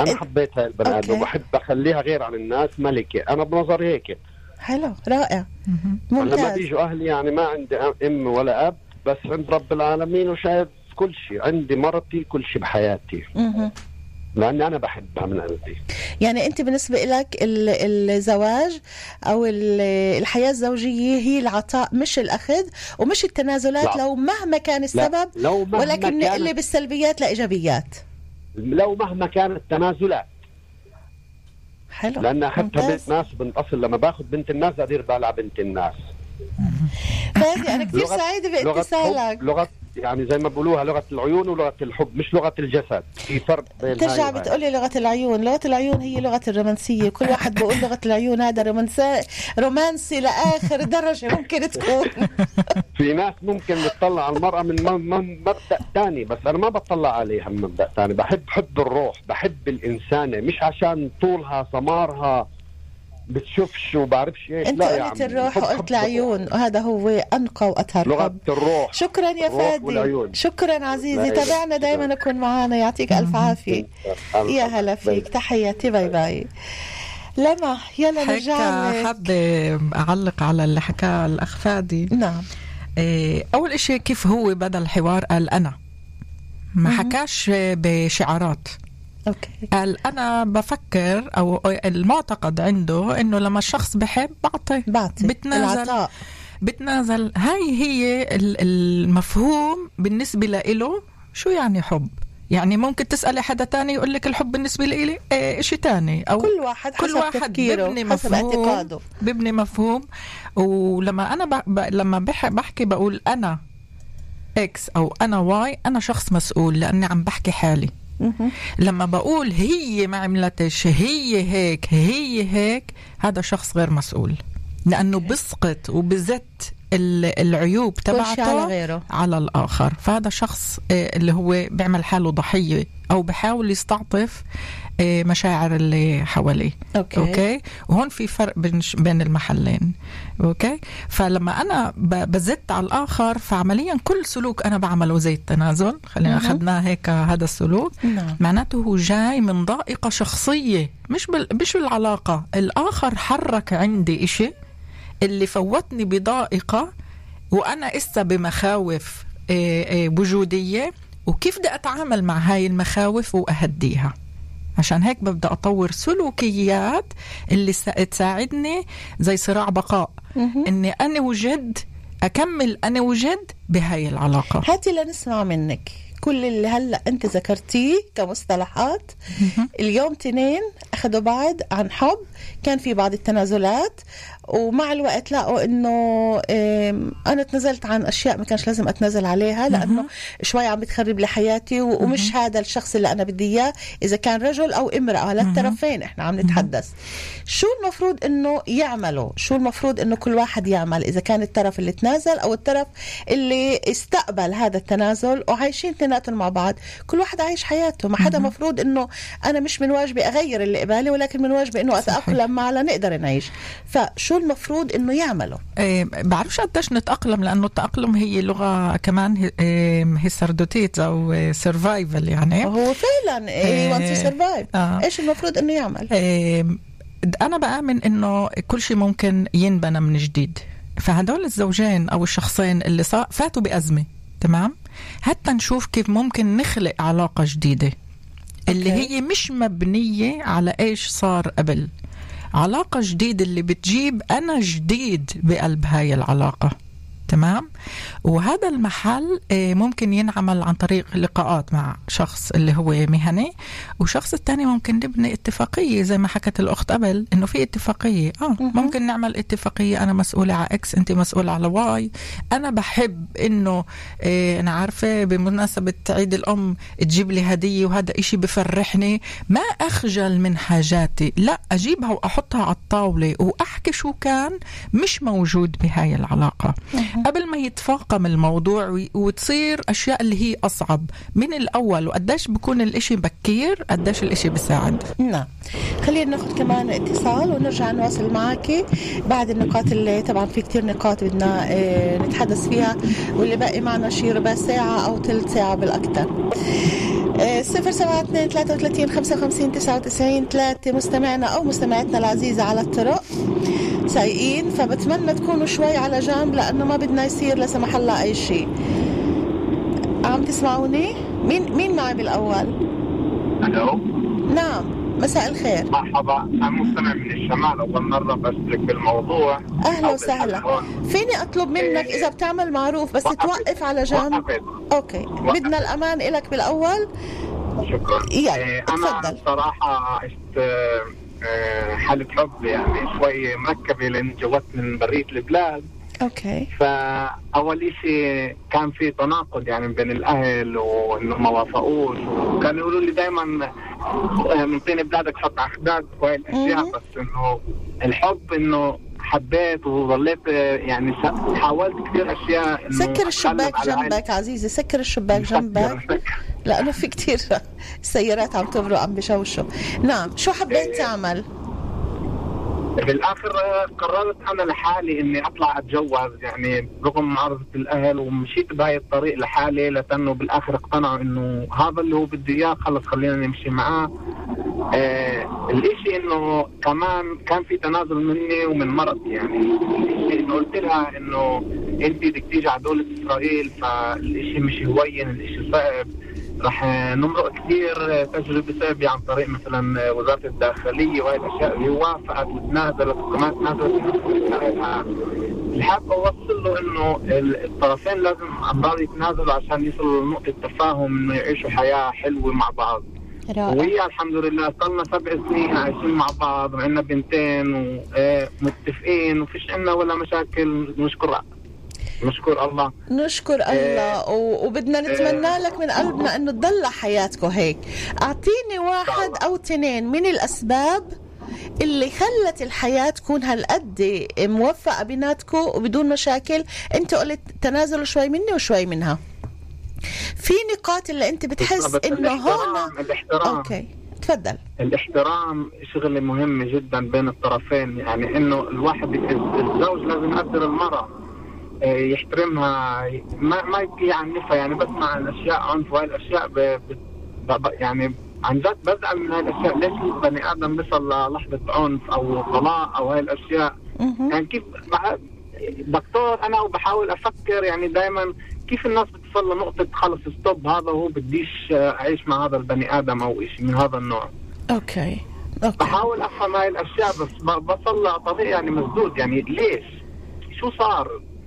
انا حبيت هاي البني ادم وبحب اخليها غير عن الناس ملكه، انا بنظري هيك. حلو رائع ممتاز. لما بيجوا اهلي يعني ما عندي ام ولا اب، بس عند رب العالمين وشايف كل شيء، عندي مرتي كل شيء بحياتي مه. لأني أنا بحبها من قلبي. يعني أنت بالنسبة لك الزواج أو الحياة الزوجية هي العطاء مش الأخذ ومش التنازلات، لا. لو مهما كان السبب، ولكن نقلب السلبيات لإيجابيات لو مهما كانت التنازلات. حلو. لأن أخذتها بنت ناس بنت أصل، لما باخذ بنت الناس أدير بالي على بنت الناس. فادي أنا كثير سعيدة باتصالك. لغة يعني زي ما بقولوها لغة العيون ولغة الحب، مش لغة الجسد، في فرق بين. ترجع بتقولي لغة العيون، لغة العيون هي لغة الرومانسية، كل واحد بقول لغة العيون هذا رومانسي رومانسي لآخر درجة ممكن تكون. في ناس ممكن تطلع على المرأة من مبدأ ثاني، بس أنا ما بطلع عليها من مبدأ ثاني، بحب حب الروح، بحب الإنسانة، مش عشان طولها سمارها بتشوفش وبعرفش ايش. انت لا قلت يعني الروح وقلت العيون، وهذا هو انقى واطهر لغة حب. الروح. شكرا يا فادي، شكرا عزيزي، تابعنا دائما نكون معنا، يعطيك الف عافيه. يا هلا فيك، تحياتي، باي باي. لما يلا نرجع لك. حابه اعلق على اللي حكاه الاخ فادي. نعم. اول اشي كيف هو بدا الحوار قال انا، ما حكاش بشعارات. أوكي. قال أنا بفكر أو المعتقد عنده إنه لما الشخص بحب بعطي بعطي بتنازل العطاء. بتنازل. هاي هي المفهوم بالنسبة له. شو يعني حب؟ يعني ممكن تسألي حدا تاني يقول لك الحب بالنسبة لي إيه شيء تاني، أو كل واحد كل حسب واحد تفكيره ببني حسب مفهوم اعتقاده، ببني مفهوم. ولما أنا ب... ب... لما بح... بحكي بقول أنا إكس أو أنا واي، أنا شخص مسؤول لأني عم بحكي حالي. لما بقول هي ما عملتش، هي هيك هي هيك، هذا شخص غير مسؤول، لأنه بسقط وبزت العيوب تبعته على غيره، على الآخر. فهذا شخص اللي هو بيعمل حاله ضحية أو بحاول يستعطف مشاعر اللي حواليه. أوكي. أوكي. وهون في فرق بين بين المحلين. أوكي. فلما أنا بزت على الآخر، فعمليا كل سلوك أنا بعمله زي التنازل، خلينا أخذناه هيك هذا السلوك. نعم. معناته هو جاي من ضائقة شخصية، مش بال... مش العلاقة. الآخر حرك عندي إشي اللي فوتني بضائقة، وأنا إسا بمخاوف وجودية، وكيف بدي أتعامل مع هاي المخاوف وأهديها. عشان هيك ببدأ أطور سلوكيات اللي تساعدني زي صراع بقاء، إني أنا وجد أكمل أنا وجد بهاي العلاقة. هاتي لنسمع منك كل اللي هلأ أنت ذكرتيه كمصطلحات. اليوم تنين أخذوا بعض عن حب، كان في بعض التنازلات، ومع الوقت لقوا إنه أنا تنزلت عن أشياء ما كانش لازم أتنازل عليها، لأنه شوي عم بتخرب لي حياتي، ومش هذا الشخص اللي أنا بدي إياه، إذا كان رجل أو امرأة، للطرفين إحنا عم نتحدث. شو المفروض إنه يعملوا؟ شو المفروض إنه كل واحد يعمل إذا كان الطرف اللي تنازل أو الطرف اللي استقبل هذا التنازل وعايشين اثنيناتهم مع بعض؟ كل واحد عايش حياته، ما حدا مفروض إنه أنا مش من واجبي أغير اللي قبالي، ولكن من واجبي إنه أتأقلم معه لنقدر نعيش. فشو المفروض إنه يعملوا؟ إيه بعرفش قديش نتأقلم، لأنه التأقلم هي لغة كمان هيسردوتيت أو سيرفايفل، يعني هو فعلا إيه وانت سيرفايف. آه. إيش المفروض إنه يعمل؟ إيه أنا بآمن إنه كل شيء ممكن ينبنى من جديد. فهدول الزوجين أو الشخصين اللي فاتوا بأزمة، تمام، حتى نشوف كيف ممكن نخلق علاقة جديدة اللي أوكي. هي مش مبنية على إيش صار قبل، علاقة جديدة اللي بتجيب أنا جديد بقلب هاي العلاقة، تمام. وهذا المحل ممكن ينعمل عن طريق لقاءات مع شخص اللي هو مهني، وشخص التاني ممكن نبني اتفاقية زي ما حكت الأخت قبل، إنه في اتفاقية آه ممكن نعمل اتفاقية، أنا مسؤولة على إكس، أنت مسؤولة على واي. أنا بحب إنه إيه أنا عارفة بمناسبة عيد الأم تجيب لي هدية، وهذا إشي بفرحني، ما أخجل من حاجاتي، لا أجيبها وأحطها على الطاولة وأحكي شو كان مش موجود بهاي العلاقة قبل ما يتفاقم الموضوع وتصير أشياء اللي هي أصعب من الأول. وقداش بكون الإشي بكير، قداش الإشي بيساعد. نعم. خلينا ناخد كمان اتصال ونرجع نواصل معاكي بعد النقاط اللي طبعا في كتير نقاط بدنا اه نتحدث فيها، واللي باقي معنا شي ربع ساعة أو ثلث ساعة بالأكثر. صفر سبعة اثنين ثلاثة وثلاثين خمسة وخمسين تسعة وتسعين ثلاثة. مستمعنا أو مستمعتنا العزيزة على الطرق سايقين، فبتمنى تكونوا شوي على جنب لأنه ما بدنا يصير لا سمح الله أي شيء. عم تسمعوني؟ مين مين معي بالأول؟ ألو. نعم، مساء الخير. مرحبا، أنا مستمع من الشمال، أول مرة بشترك بالموضوع. أهلا وسهلا. فيني أطلب منك إذا بتعمل معروف بس وقفت. توقف على جنب. وقفت. أوكي وقفت. بدنا الأمان إلك بالأول. شكرا. يلا أنا صراحة عشت حالة حب يعني شوي مركبة لأن جوت من برية البلاد. اوكي. فاول شيء كان في تناقض يعني بين الاهل وانه ما وافقوش، وكانوا يقولوا لي دائما من طين بلادك حط احداث وهي الاشياء، بس انه الحب انه حبيت وظليت يعني حاولت كثير اشياء. سكر الشباك جنبك عزيزي، سكر الشباك جنبك لانه في كثير سيارات عم تمرق عم بشوشوا. نعم، شو حبيت تعمل؟ بالاخر قررت انا لحالي اني اطلع اتجوز يعني رغم معارضه الاهل، ومشيت بهاي الطريق لحالي لانه بالاخر اقتنعوا انه هذا اللي هو بدي اياه، خلص خلينا نمشي معاه. آه الاشي انه كمان كان في تنازل مني ومن مرتي، يعني الاشي انه قلت لها انه انت بدك تيجي على دولة اسرائيل فالاشي مش هوين، الاشي صعب، رح نمرق كثير تجربة صعبة عن طريق مثلا وزارة الداخلية وهي الأشياء اللي وافقت وتنازلت وكمان تنازلت. اللي حابة أوصل له إنه الطرفين لازم أمرار يتنازلوا عشان يصلوا لنقطة تفاهم إنه يعيشوا حياة حلوة مع بعض. وهي الحمد لله صلنا سبع سنين عايشين مع بعض وعندنا بنتين ومتفقين وفيش عنا ولا مشاكل، نشكر نشكر الله. نشكر الله و... وبدنا نتمنى لك من قلبنا انه تضل حياتكم هيك. اعطيني واحد او اثنين من الاسباب اللي خلت الحياة تكون هالقد موفقة بيناتكم وبدون مشاكل. انت قلت تنازلوا شوي مني وشوي منها، في نقاط اللي انت بتحس انه هون. الاحترام. اوكي تفضل. الاحترام شغلة مهمة جدا بين الطرفين، يعني انه الواحد الزوج لازم يقدر المرأة يحترمها، ما ما يعنفها، يعني بسمع عن اشياء عنف وهي الاشياء ب... ب... يعني عن جد بزعل من هاي الاشياء. ليش البني ادم بيصل للحظه عنف او طلاق او هاي الاشياء؟ يعني كيف مع دكتور انا وبحاول افكر يعني دائما كيف الناس بتصل لنقطه خلص ستوب، هذا هو بديش اعيش مع هذا البني ادم او شيء من هذا النوع. اوكي اوكي بحاول افهم هاي الاشياء بس بصل لطريق يعني مسدود. يعني ليش؟ شو صار؟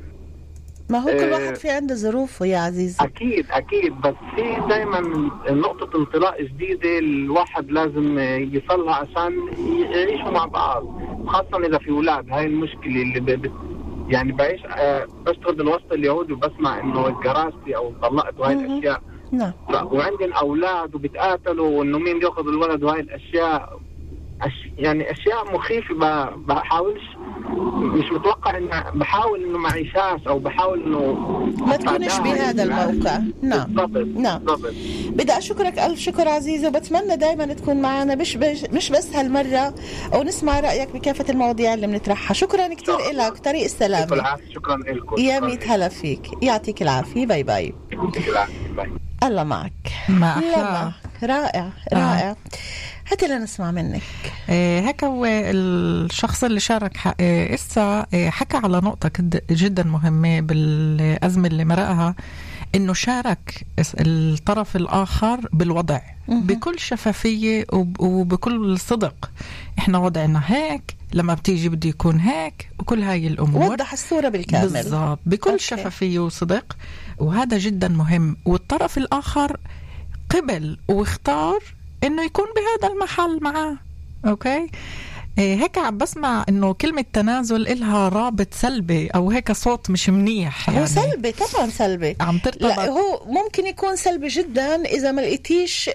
ما هو كل واحد في عنده ظروفه يا عزيزي. أكيد أكيد، بس في دايما نقطة انطلاق جديدة الواحد لازم يصلها عشان يعيشوا مع بعض، خاصة إذا في أولاد. هاي المشكلة اللي ب... يعني بعيش أه بشتغل بالوسط اليهودي وبسمع إنه اتجرستي أو طلقت وهاي الأشياء. نعم. وعندنا أولاد وبتقاتلوا وإنه مين يأخذ الولد وهاي الأشياء. أش... يعني أشياء مخيفة. ب... بحاولش مش متوقع إن بحاول إنه ما عيشاش أو بحاول إنه ما تكونش بهذا الموقع. نعم بالضبط. نعم بالضبط. بدي أشكرك ألف شكر عزيزي، وبتمنى دايما تكون معنا مش مش بس هالمرة، أو نسمع رأيك بكافة المواضيع اللي بنطرحها. شكرا كتير إلك، طريق السلامة. شكرا لكم. يا ميت هلا فيك، يعطيك العافية. باي باي. يعطيك العافية. باي. الله معك. ما أحلى. رائع رائع. آه. هاتي لنسمع منك. إيه هيك هو الشخص اللي شارك إيه إسا إيه حكى على نقطة جدا مهمة بالأزمة اللي مرقها، إنه شارك الطرف الآخر بالوضع بكل شفافية وبكل صدق. إحنا وضعنا هيك، لما بتيجي بدي يكون هيك، وكل هاي الأمور وضح الصورة بالكامل بالضبط بكل أوكي. شفافية وصدق، وهذا جدا مهم. والطرف الآخر قبل واختار إنه يكون بهذا المحل معاه. أوكي إيه هيك عم بسمع إنه كلمة تنازل إلها رابط سلبي أو هيك صوت مش منيح. يعني هو سلبي طبعا، سلبي عم ترتبط. لا هو ممكن يكون سلبي جدا إذا ما لقيتيش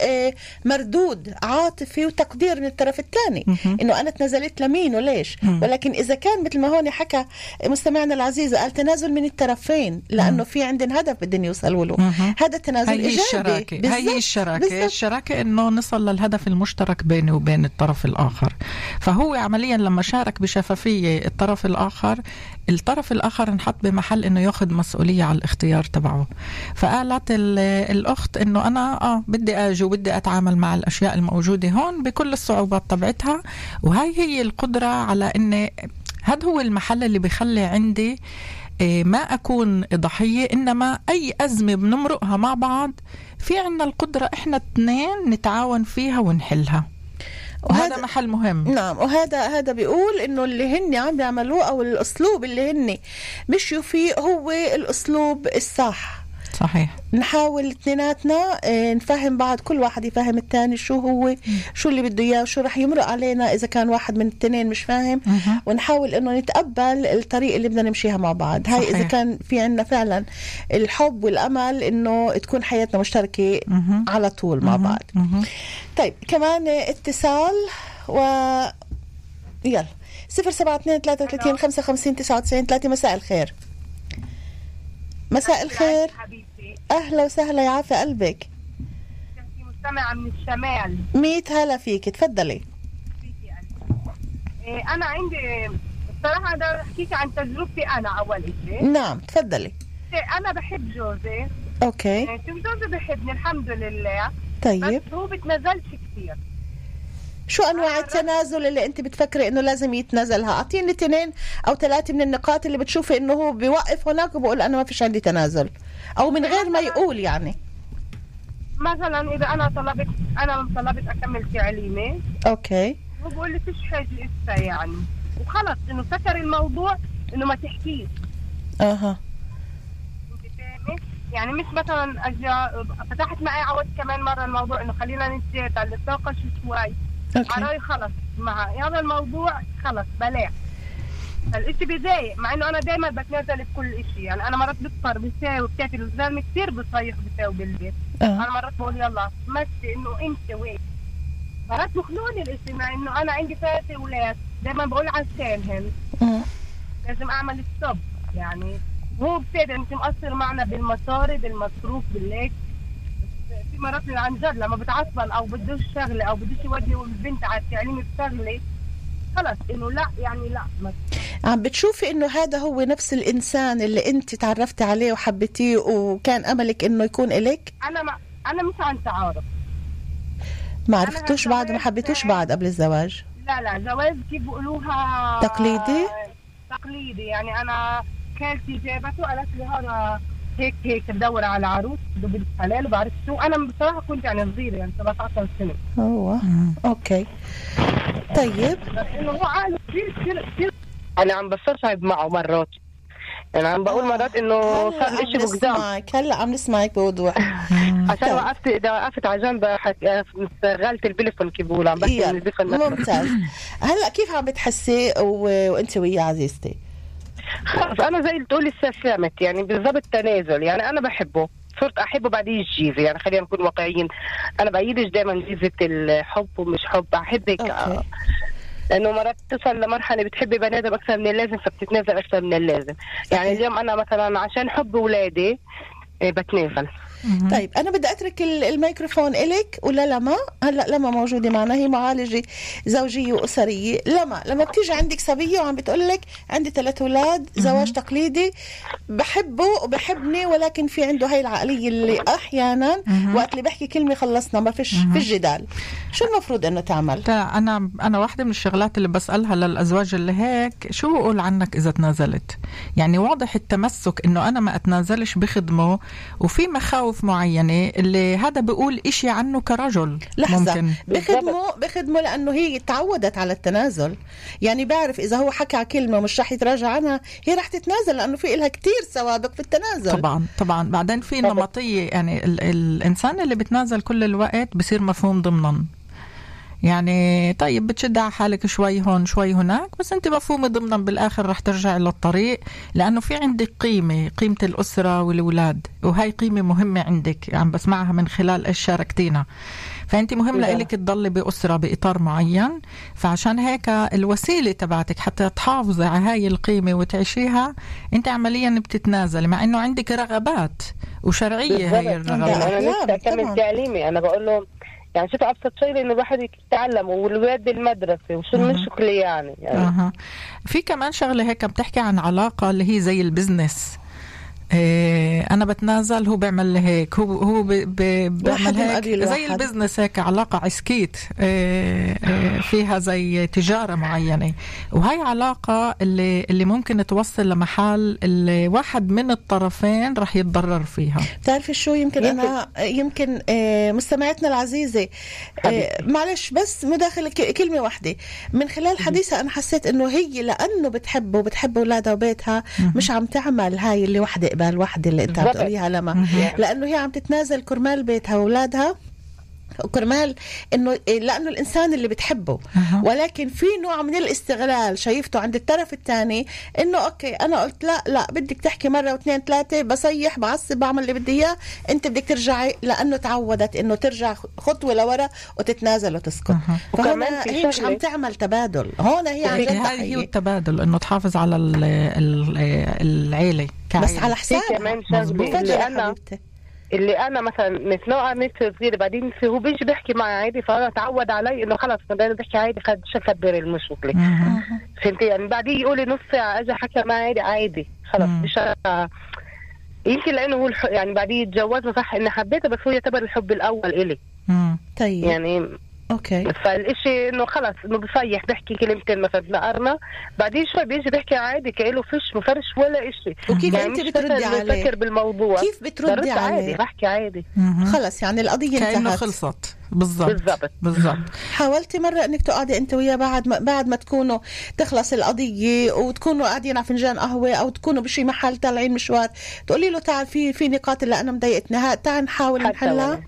مردود عاطفي وتقدير من الطرف الثاني إنه أنا تنازلت لمين وليش. م- ولكن إذا كان مثل ما هون حكى مستمعنا العزيز قال تنازل من الطرفين لأنه م- في عندنا هدف بدنا يوصلوا له، هذا التنازل هي إيجابي. الشراكة. هي الشراكة بالزبط. الشراكة إنه نصل للهدف المشترك بيني وبين الطرف الآخر. فهو هو عمليا لما شارك بشفافية الطرف الآخر، الطرف الآخر انحط بمحل إنه يأخذ مسؤولية على الاختيار تبعه. فقالت الأخت إنه أنا آه بدي أجي وبدي أتعامل مع الأشياء الموجودة هون بكل الصعوبات تبعتها، وهي هي القدرة على إن هذا هو المحل اللي بيخلي عندي ما أكون ضحية، إنما أي أزمة بنمرقها مع بعض في عنا القدرة إحنا اثنين نتعاون فيها ونحلها، وهذا محل مهم. نعم، وهذا هذا بيقول إنه اللي هن عم بيعملوه أو الأسلوب اللي هن مشيوا فيه هو الأسلوب الصح. صحيح. نحاول اثنيناتنا نفهم بعض، كل واحد يفهم الثاني شو هو شو اللي بده اياه وشو رح يمرق علينا اذا كان واحد من الاثنين مش فاهم، ونحاول انه نتقبل الطريق اللي بدنا نمشيها مع بعض. هاي صحيح. اذا كان في عنا فعلا الحب والامل انه تكون حياتنا مشتركه مه. على طول مع بعض. مه. طيب كمان اتصال و يلا صفر سبعة اثنين ثلاثة وثلاثين خمسة وخمسين تسعة وتسعين ثلاثة. مساء الخير. مساء الخير. أهلا وسهلا، يا عافية قلبك. كنتي مستمعة من الشمال. ميت هلا فيك، تفضلي. إيه أنا عندي الصراحة أنا أحكيك عن تجربتي أنا أول شيء. نعم تفضلي. أنا بحب جوزي. أوكي. إيه جوزي بحبني الحمد لله. طيب. بس هو بتنزلش كثير. شو أنواع التنازل اللي أنت بتفكري إنه لازم يتنازلها؟ أعطيني اثنين أو ثلاثة من النقاط اللي بتشوفي إنه هو بيوقف هناك وبقول أنا ما فيش عندي تنازل، أو من غير ما يقول يعني. مثلا إذا أنا طلبت أنا طلبت أكمل تعليمي. أوكي. هو بقول لي فيش حاجة لسه يعني، وخلص إنه سكر الموضوع إنه ما تحكيش. أها. أنت فاهمة؟ يعني مش مثلا أجي فتحت معي عود كمان مرة الموضوع إنه خلينا نتجادل على النقاش شوي. عراي خلص مع هذا الموضوع خلص بلاش. الاشي بيضايق مع انه انا دايما بتنازل بكل اشي، يعني انا مرات بفطر بساوي وبتاكل الزلمه كثير بصيح بساوي بالبيت. أه. انا مرات بقول يلا مشي انه انت وين، مرات بخلوني الاشي مع انه انا عندي ثلاثة اولاد، دايما بقول عشانهم أه. لازم اعمل ستوب. يعني هو بصير انت مقصر معنا بالمصاري بالمصروف بالليك. في مرات عن جد لما بتعصبن او بدوش شغله او بدوش يودي البنت على التعليم بشغله خلص انه لا يعني لا. عم بتشوفي انه هذا هو نفس الانسان اللي انت تعرفتي عليه وحبيتيه وكان املك انه يكون الك؟ انا ما انا مش عن تعارف. ما عرفتوش بعد وما حبيتوش بعد قبل الزواج؟ لا لا جواز كيف بيقولوها تقليدي؟ تقليدي. يعني انا خالتي جابته قالت لي هذا هيك هيك بدور على عروس بنت حلال وبعرف شو. انا بصراحه كنت يعني صغيره يعني سبعة عشر سنه. اوه اوكي طيب. بس انه هو عقله كثير كثير كثير انا عم بستصعب معه مرات، يعني عم بقول مرات انه صار شيء بقدام. هلا عم نسمعك بوضوح. عشان وقفت اذا وقفت على جنب شغلت البليفون كيف بقول عم بحكي من البليفون. ممتاز. هلا كيف عم بتحسي و... وانت وياه عزيزتي؟ خلص انا زي اللي تقولي استسلمت، يعني بالضبط تنازل. يعني انا بحبه صرت احبه بعدين الجيزه، يعني خلينا نكون واقعيين. انا بايدش دائما جيزه الحب ومش حب، احبك أوكي. لانه مرات تصل لمرحله بتحبي بني ادم اكثر من اللازم فبتتنازل اكثر من اللازم. يعني اليوم انا مثلا عشان حب اولادي بتنازل. طيب أنا بدي أترك الميكروفون إلك ولا لما هلأ لما موجودة معنا، هي معالجة زوجية وأسرية. لما لما بتيجي عندك صبية وعم بتقولك عندي ثلاث أولاد زواج تقليدي بحبه وبحبني، ولكن في عنده هاي العقلية اللي أحيانا وقت اللي بحكي كلمة خلصنا ما فيش في الجدال، شو المفروض إنه تعمل؟ أنا أنا واحدة من الشغلات اللي بسألها للأزواج اللي هيك شو بقول عنك إذا تنازلت؟ يعني واضح التمسك إنه أنا ما أتنازلش بخدمه، وفي مخاوف معينة اللي هذا بيقول إشي عنه كرجل. لحظة ممكن بخدمه بخدمه لأنه هي تعودت على التنازل، يعني بعرف إذا هو حكى كلمة مش رح يتراجع عنها هي رح تتنازل لأنه في إلها كتير سوابق في التنازل. طبعا طبعا بعدين في نمطية، يعني ال- الإنسان اللي بتنازل كل الوقت بصير مفهوم ضمنا، يعني طيب بتشد على حالك شوي هون شوي هناك، بس انت مفهومة ضمنا بالآخر رح ترجع للطريق، لأنه في عندك قيمة قيمة الأسرة والأولاد، وهي قيمة مهمة عندك عم بسمعها من خلال إيش شاركتينا. فأنت مهم لإلك تضلي بأسرة بإطار معين، فعشان هيك الوسيلة تبعتك حتى تحافظي على هاي القيمة وتعيشيها انت عمليا بتتنازل، مع انه عندك رغبات وشرعية هاي الرغبات. انا لسه اكمل تعليمي، انا بقول له يعني شوف ابسط شيء انه الواحد يتعلم والولاد بالمدرسه وشو المشكله يعني, يعني. أه. في كمان شغله هيك بتحكي عن علاقه اللي هي زي البزنس. إيه أنا بتنازل هو بيعمل هيك هو هو بيعمل هيك زي البزنس هيك علاقة عسكيت إيه إيه فيها زي تجارة معينة وهي علاقة اللي اللي ممكن توصل لمحل اللي واحد من الطرفين رح يتضرر فيها. تعرفي شو يمكن, يمكن أنا يمكن إيه مستمعتنا العزيزة إيه معلش بس مداخلة كلمة واحدة من خلال حديثها أنا حسيت إنه هي لأنه بتحب وبتحب أولادها وبيتها مش عم تعمل هاي اللي وحدة الوحدة اللي انت بتقوليها لما لانه هي عم تتنازل كرمال بيتها واولادها وكرمال انه لانه الانسان اللي بتحبه ولكن في نوع من الاستغلال شايفته عند الطرف الثاني انه اوكي انا قلت لا لا بدك تحكي مره واثنين ثلاثه بصيح بعصب بعمل اللي بدي اياه انت بدك ترجعي لانه تعودت انه ترجع خطوه لورا وتتنازل وتسكت فهنا هي مش عم تعمل تبادل هون هي عن جد هي التبادل انه تحافظ على العيله بس على حساب كمان شغله اللي انا اللي انا مثلا مثل مثل صغيره بعدين في هو بيجي بيحكي معي عادي فانا تعود علي انه خلص بدنا بحكي عادي خد شو كبر المشكله فهمتي يعني بعدين يقول لي نص ساعه اجى حكى معي عادي عادي خلص مش يمكن لانه هو الح... يعني بعدين يتجوزوا صح اني حبيته بس هو يعتبر الحب الاول الي طيب يعني اوكي فالاشي انه خلص انه بصيح بحكي كلمتين مثلا نقرنا بعدين شوي بيجي بيحكي عادي كأنه فيش مفرش ولا اشي وكيف يعني انت بتردي عليه بفكر بالموضوع كيف بتردي عليه عادي بحكي عادي خلص يعني القضيه كأنه خلصت بالضبط بالضبط بالضبط حاولتي مره انك تقعدي انت وياه بعد ما بعد ما تكونوا تخلص القضيه وتكونوا قاعدين على فنجان قهوه او تكونوا بشي محل طالعين مشوار تقولي له تعال في في نقاط اللي انا مضايقتني تعال نحاول نحلها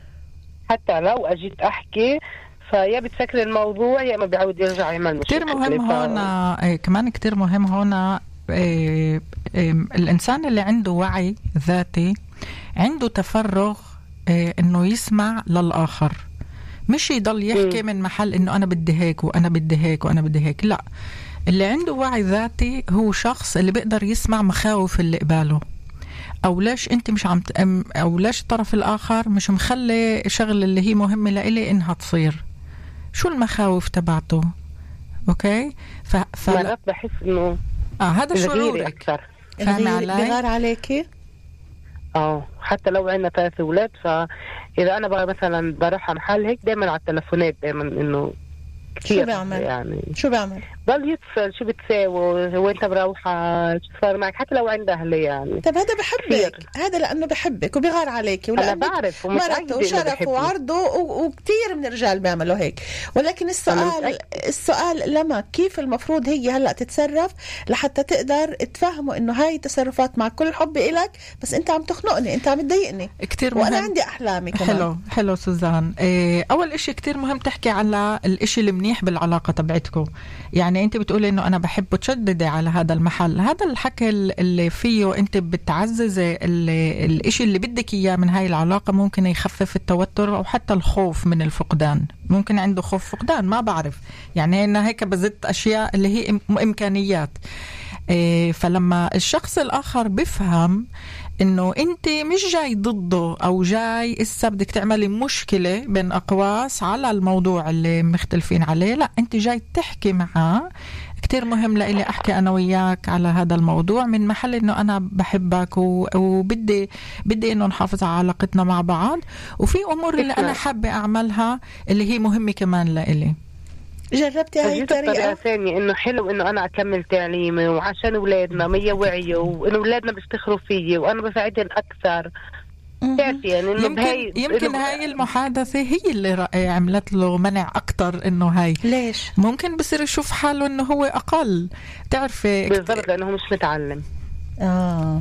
حتى لو اجيت احكي فيا بتفكر الموضوع يا ما بيعود يرجع يعمل كتير مهم ف... هنا إيه كمان كتير مهم هنا إيه إيه الإنسان اللي عنده وعي ذاتي عنده تفرغ إيه إنه يسمع للآخر مش يضل يحكي م. من محل إنه أنا بدي هيك وأنا بدي هيك وأنا بدي هيك لا اللي عنده وعي ذاتي هو شخص اللي بيقدر يسمع مخاوف اللي قباله أو ليش أنت مش عم تأم أو ليش الطرف الآخر مش مخلي شغل اللي هي مهمة لإلي إنها تصير شو المخاوف تبعته اوكي ف مرات بحس انه اه هذا شعورك فاهمه علي بغار عليكي اه حتى لو عندنا ثلاث اولاد فاذا انا بقى مثلا بروح على محل هيك دائما على التلفونات دائما انه شو بيعمل يعني شو بيعمل ضل يتصل شو بتساوي وانت مروحه شو صار معك حتى لو عندها اهلي يعني طب هذا بحبك هذا لانه بحبك وبيغار عليكي انا بعرف مرته وشرفه وعرضه وكثير من الرجال بيعملوا هيك ولكن السؤال السؤال لما كيف المفروض هي هلا تتصرف لحتى تقدر تفهموا انه هاي تصرفات مع كل حب إلك بس انت عم تخنقني انت عم تضايقني كثير وانا عندي احلامي كمان حلو حلو سوزان إيه اول إشي كثير مهم تحكي على الإشي المنيح بالعلاقه تبعتكم يعني انت بتقولي انه انا بحب تشددي على هذا المحل هذا الحكي اللي فيه انت بتعززي الاشي اللي بدك اياه من هاي العلاقه ممكن يخفف التوتر او حتى الخوف من الفقدان ممكن عنده خوف فقدان ما بعرف يعني انا هيك بزت اشياء اللي هي امكانيات إيه فلما الشخص الاخر بفهم انه انت مش جاي ضده او جاي اسا بدك تعملي مشكله بين اقواس على الموضوع اللي مختلفين عليه لا انت جاي تحكي معاه كتير مهم لإلي احكي انا وياك على هذا الموضوع من محل انه انا بحبك وبدي بدي انه نحافظ على علاقتنا مع بعض وفي امور اللي انا حابه اعملها اللي هي مهمه كمان لإلي جربتي هاي الطريقة ثانية إنه حلو إنه أنا أكمل تعليمي وعشان أولادنا مية وعيه وإنه أولادنا بيفتخروا فيي وأنا بساعدهم أكثر تعرفي يعني إنه يمكن بهاي يمكن إنه هاي المحادثة هي اللي عملت له منع أكتر إنه هاي ليش ممكن بصير يشوف حاله إنه هو أقل تعرفي بالضبط لأنه هو مش متعلم آه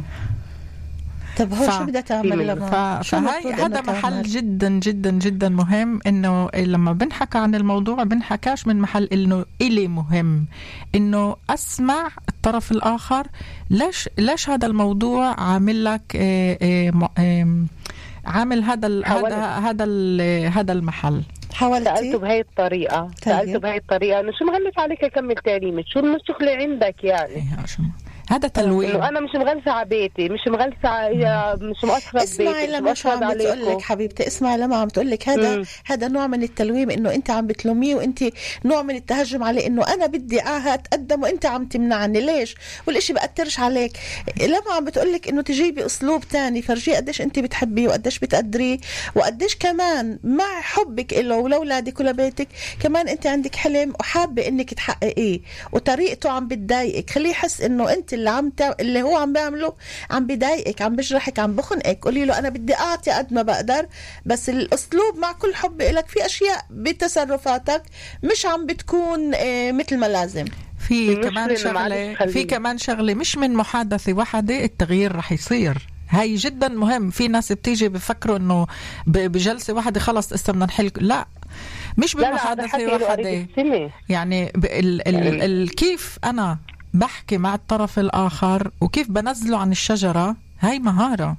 طب هو ف... شو بدها تعمل لما ف... فهاي هذا محل جدا جدا جدا مهم انه لما بنحكى عن الموضوع بنحكاش من محل انه إلي مهم انه اسمع الطرف الاخر ليش ليش هذا الموضوع عامل لك إيه إيه إيه عامل هذا ال... هذا هذا ال... هذا المحل حاولتي سألته بهاي الطريقة طيب. سألته بهاي الطريقة انه شو مغلق عليك اكمل تعليمك شو المشكلة عندك يعني إيه هذا تلوين. إنه أنا مش مغلسة على بيتي، مش مغلسة على- مش مؤثرة اسمعي ببيتي، لما مش شو عم مؤثرة بتقول لك عليكم. حبيبتي، اسمعي لما عم تقول لك هذا مم. هذا نوع من التلويم، انه انت عم بتلوميه وانت نوع من التهجم عليه، انه انا بدي اتقدم وانت عم تمنعني. ليش؟ والاشي بأثرش عليك. لما عم بتقول لك انه تجيبي اسلوب تاني، فرجيه قديش انت بتحبيه وقديش بتقدريه وقديش كمان مع حبك له ولأولادك ولبيتك كمان انت عندك حلم وحابه انك تحققيه، وطريقته عم بتضايقك. خليه يحس انه انت اللي عم ت... اللي هو عم بيعمله عم بضايقك، عم بجرحك، عم بخنقك. قولي له انا بدي اعطي قد ما بقدر، بس الاسلوب مع كل حب لك في اشياء بتصرفاتك مش عم بتكون آه، مثل ما لازم. في كمان شغلة في كمان شغلة مش من محادثة واحدة التغيير رح يصير. هاي جدا مهم. في ناس بتيجي بفكروا انه ب- بجلسة واحدة خلص اسا بدنا نحل. لا، مش لا لا، هذا حكي بمحادثة له واحدة. قريب السنة. يعني ب- ال ال ال كيف انا بحكي مع الطرف الاخر وكيف بنزله عن الشجرة، هاي مهارة،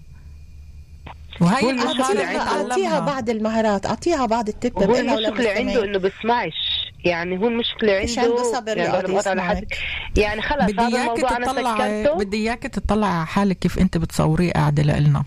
وهي هو المشكلة المهارة عنده- اعطيها بعض المهارات، اعطيها بعض التب. هو المشكلة عنده إنه بسمعش، يعني هو المشكلة مش عنده عنده صبر يعني يقعد أنا بقطع يسمعك. لحد- يعني خلص بدي هذا اياك الموضوع أنا تطلع سكرته. بدي اياك تطلع على حالك كيف انت بتصوريه قاعدة لنا.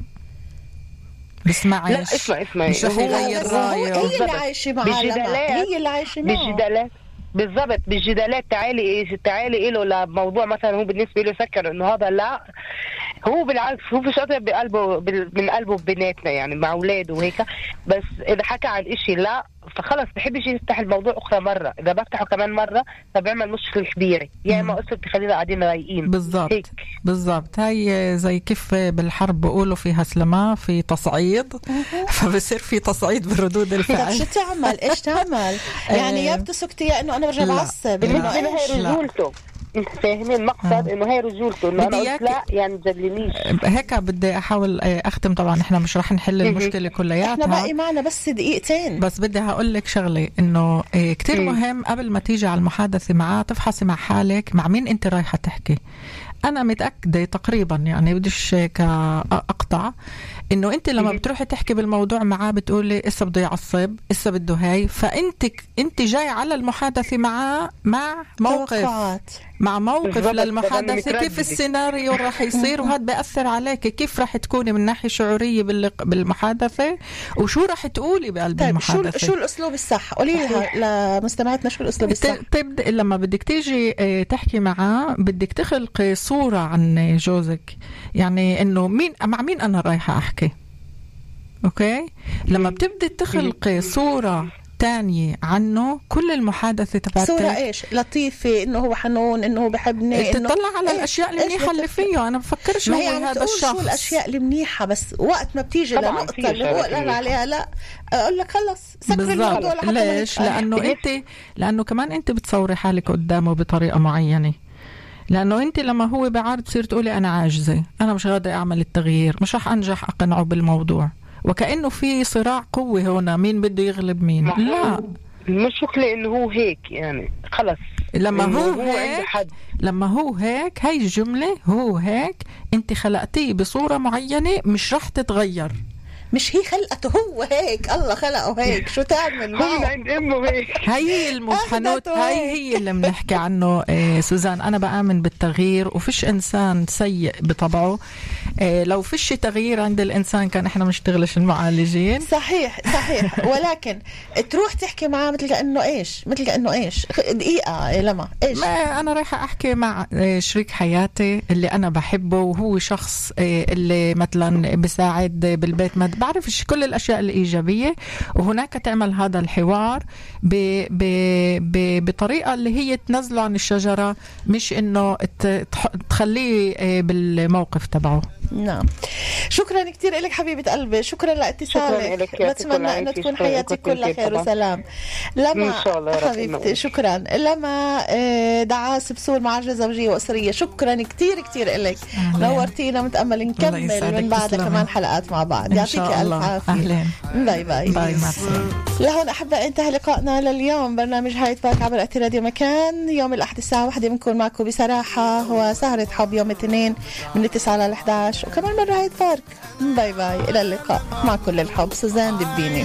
بسمعش. لا اسمع اسمع مش رح هو- يغير هو- رايه. هي اللي بالضبط. عايشة معاه لما. بالجدالات هي اللي عايشة معه. بالجدالات بالضبط بالجدالات. تعالي تعالي له لموضوع مثلا هو بالنسبة له فكر إنه هذا لا، هو بالعكس هو فيش قطع بقلبه بال- من قلبه ببناتنا يعني مع أولاده وهيك. بس إذا حكى عن إشي لا فخلص بحبش يفتح الموضوع أخرى مرة. إذا بفتحه كمان مرة فبيعمل مشكلة كبيرة، يا إما أصلا تخلينا قاعدين رايقين. بالضبط بالضبط. هاي زي كيف بالحرب بقولوا فيها سلماء في تصعيد، فبصير في تصعيد بردود طب الفعل. شو تعمل؟ ايش تعمل؟ يعني يا بتسكتي يا انه انا برجع لا. بعصب. بالنسبة إنه لها إيش؟ هي رجولته. انت فاهمين المقصد؟ انه هي رجولته، انه انا بدي قلت إياك- لا يعني تجلنيش. هيك بدي احاول اختم. طبعا احنا مش رح نحل المشكله كلياتها، احنا باقي معنا بس دقيقتين. بس بدي هقول لك شغله انه إيه كتير مم. مهم قبل ما تيجي على المحادثه معاه تفحصي مع حالك مع مين انت رايحه تحكي. انا متاكده تقريبا يعني بديش هيك اقطع انه انت لما بتروحي تحكي بالموضوع معاه بتقولي اسا بده يعصب، اسا بده هاي، فانت انت جاي على المحادثه معاه مع موقف توقعات. مع موقف بالضبط، بدل للمحادثه، مترددة. كيف السيناريو راح يصير، وهذا بيأثر عليك كيف راح تكوني من ناحيه شعوريه باللق- بالمحادثه، وشو راح تقولي بقلب طيب شو المحادثه. شو الاسلوب الصح؟ قولي لها لمستمعاتنا شو الاسلوب الصح. ت- تبدأ لما بدك تيجي آه، تحكي معاه بدك تخلقي صورة عن جوزك، يعني انه مين مع مين انا رايحة احكي. اوكي، لما بتبدي تخلقي صورة تانية عنه كل المحادثة تبعتك صورة ايش؟ لطيفة، انه هو حنون، انه هو بحبني، إنه تطلع على إيش؟ الاشياء إيش المنيحة اللي بتف- فيه. انا بفكرش ما هو هي عم هذا تقول شو الشخص. الاشياء المنيحة، بس وقت ما بتيجي طبعاً لنقطة في اللي هو أشياء قال منيحة. عليها لا، اقول لك خلص سكر بالضبط. الموضوع لحتى ما ليش؟ نتقال. لانه انت لانه كمان انت بتصوري حالك قدامه بطريقة معينة، لانه انت لما هو بعارض تصير تقولي انا عاجزة، انا مش قادرة اعمل التغيير، مش رح انجح اقنعه بالموضوع، وكأنه في صراع قوة هنا، مين بده يغلب مين. لا، المشكلة انه هو هيك يعني خلص لما إنه هو عنده هيك حد. لما هو هيك هاي الجملة هو هيك انت خلقتيه بصورة معينة مش رح تتغير. مش هي خلقته هو هيك، الله خلقه هيك، شو تعمل هو معه؟ عند امه هيك. هاي المحنوت، أخذته هاي هيك. هي اللي بنحكي عنه. إيه سوزان، أنا بآمن بالتغيير وفيش إنسان سيء بطبعه. إيه لو فيش تغيير عند الإنسان كان إحنا منشتغلش المعالجين. صحيح صحيح. ولكن تروح تحكي معاه مثل كأنه ايش؟ مثل كأنه ايش؟ دقيقة إيه لما ايش؟ ما أنا رايحة أحكي مع إيه شريك حياتي اللي أنا بحبه، وهو شخص إيه اللي مثلا بساعد بالبيت، ما بعرفش كل الأشياء الإيجابية، وهناك تعمل هذا الحوار ب ب ب بطريقة اللي هي تنزله عن الشجرة، مش إنه ت- تح- تخليه إيه بالموقف تبعه. نعم. شكرا كثير لك حبيبة قلبي، شكرا شكراً لاتصالك، لك، يعطيك بتمنى العافية، انه تكون شكراً حياتك لكم كلها كثير خير طبعاً. وسلام. لما إن شاء الله يا رب حبيبتي ينور. شكرا. لما آه، دعاس بسور معالجة زوجية وأسرية، شكرا كثير كثير لك، نورتينا. متأمل نكمل يسعدك، من بعدها تسلمي. كمان حلقات مع بعض. إن يعطيك شاء ألف الله. عافية. أهلين. باي باي. باي، مع السلامة. لهون أحبائي انتهى لقائنا لليوم، برنامج هاي بارك عبر أثير راديو مكان. يوم الأحد الساعة واحدة بنكون معكم بصراحة، وسهرة حب يوم الاثنين من التسعة على الأحد عشر، وكمان مرة هاي بارك. باي باي، إلى اللقاء مع كل الحب. سوزان دبيني.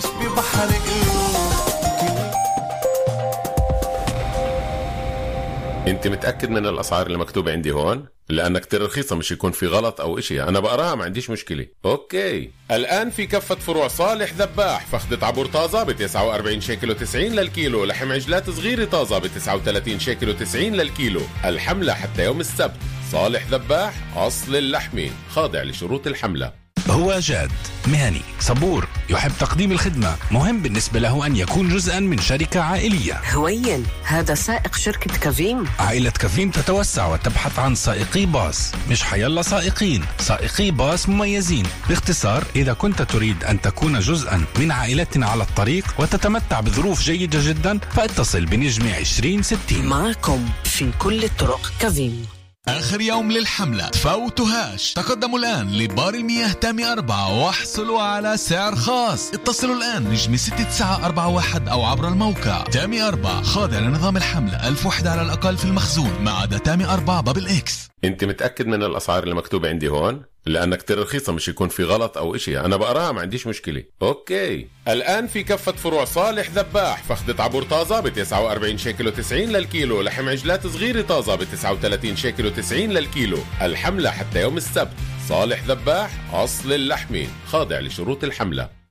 انت متأكد من الأسعار اللي مكتوبة عندي هون؟ لأنها كتير رخيصة، مش يكون في غلط أو إشي. أنا بقراها ما عنديش مشكلة. أوكي. الآن في كفة فروع صالح ذباح، فخدة عبور طازة ب تسعة وأربعين شيكل وتسعين للكيلو، لحم عجلات صغيرة طازة ب تسعة وثلاثين شيكل وتسعين للكيلو. الحملة حتى يوم السبت. صالح ذباح، أصل اللحمة، خاضع لشروط الحملة. هو جاد، مهني، صبور، يحب تقديم الخدمة. مهم بالنسبة له أن يكون جزءا من شركة عائلية. هوين، هذا سائق شركة كافيم. عائلة كافيم تتوسع وتبحث عن سائقي باص، مش حيلا سائقين، سائقي باص مميزين. باختصار، إذا كنت تريد أن تكون جزءا من عائلتنا على الطريق وتتمتع بظروف جيدة جدا، فاتصل بنجم عشرين ستين. معكم في كل الطرق كافيم. آخر يوم للحملة تفوتوهاش. تقدموا الآن لبار المياه تامي أربعة واحصلوا على سعر خاص. اتصلوا الآن نجم ستة تسعة أربعة واحد أو عبر الموقع. تامي أربعة خاضع لنظام الحملة، ألف وحدة على الأقل في المخزون ما عدا تامي أربعة بابل إكس. انت متأكد من الأسعار اللي مكتوبة عندي هون؟ لأنها كتير رخيصة، مش يكون في غلط أو إشي. أنا بقراها ما عنديش مشكلة. أوكي. الآن في كفة فروع صالح ذباح، فخدة عبور طازة ب تسعة وأربعين شيكل وتسعين للكيلو، لحم عجلات صغيرة طازة ب تسعة وثلاثين شيكل وتسعين للكيلو. الحملة حتى يوم السبت. صالح ذباح، أصل اللحمة، خاضع لشروط الحملة.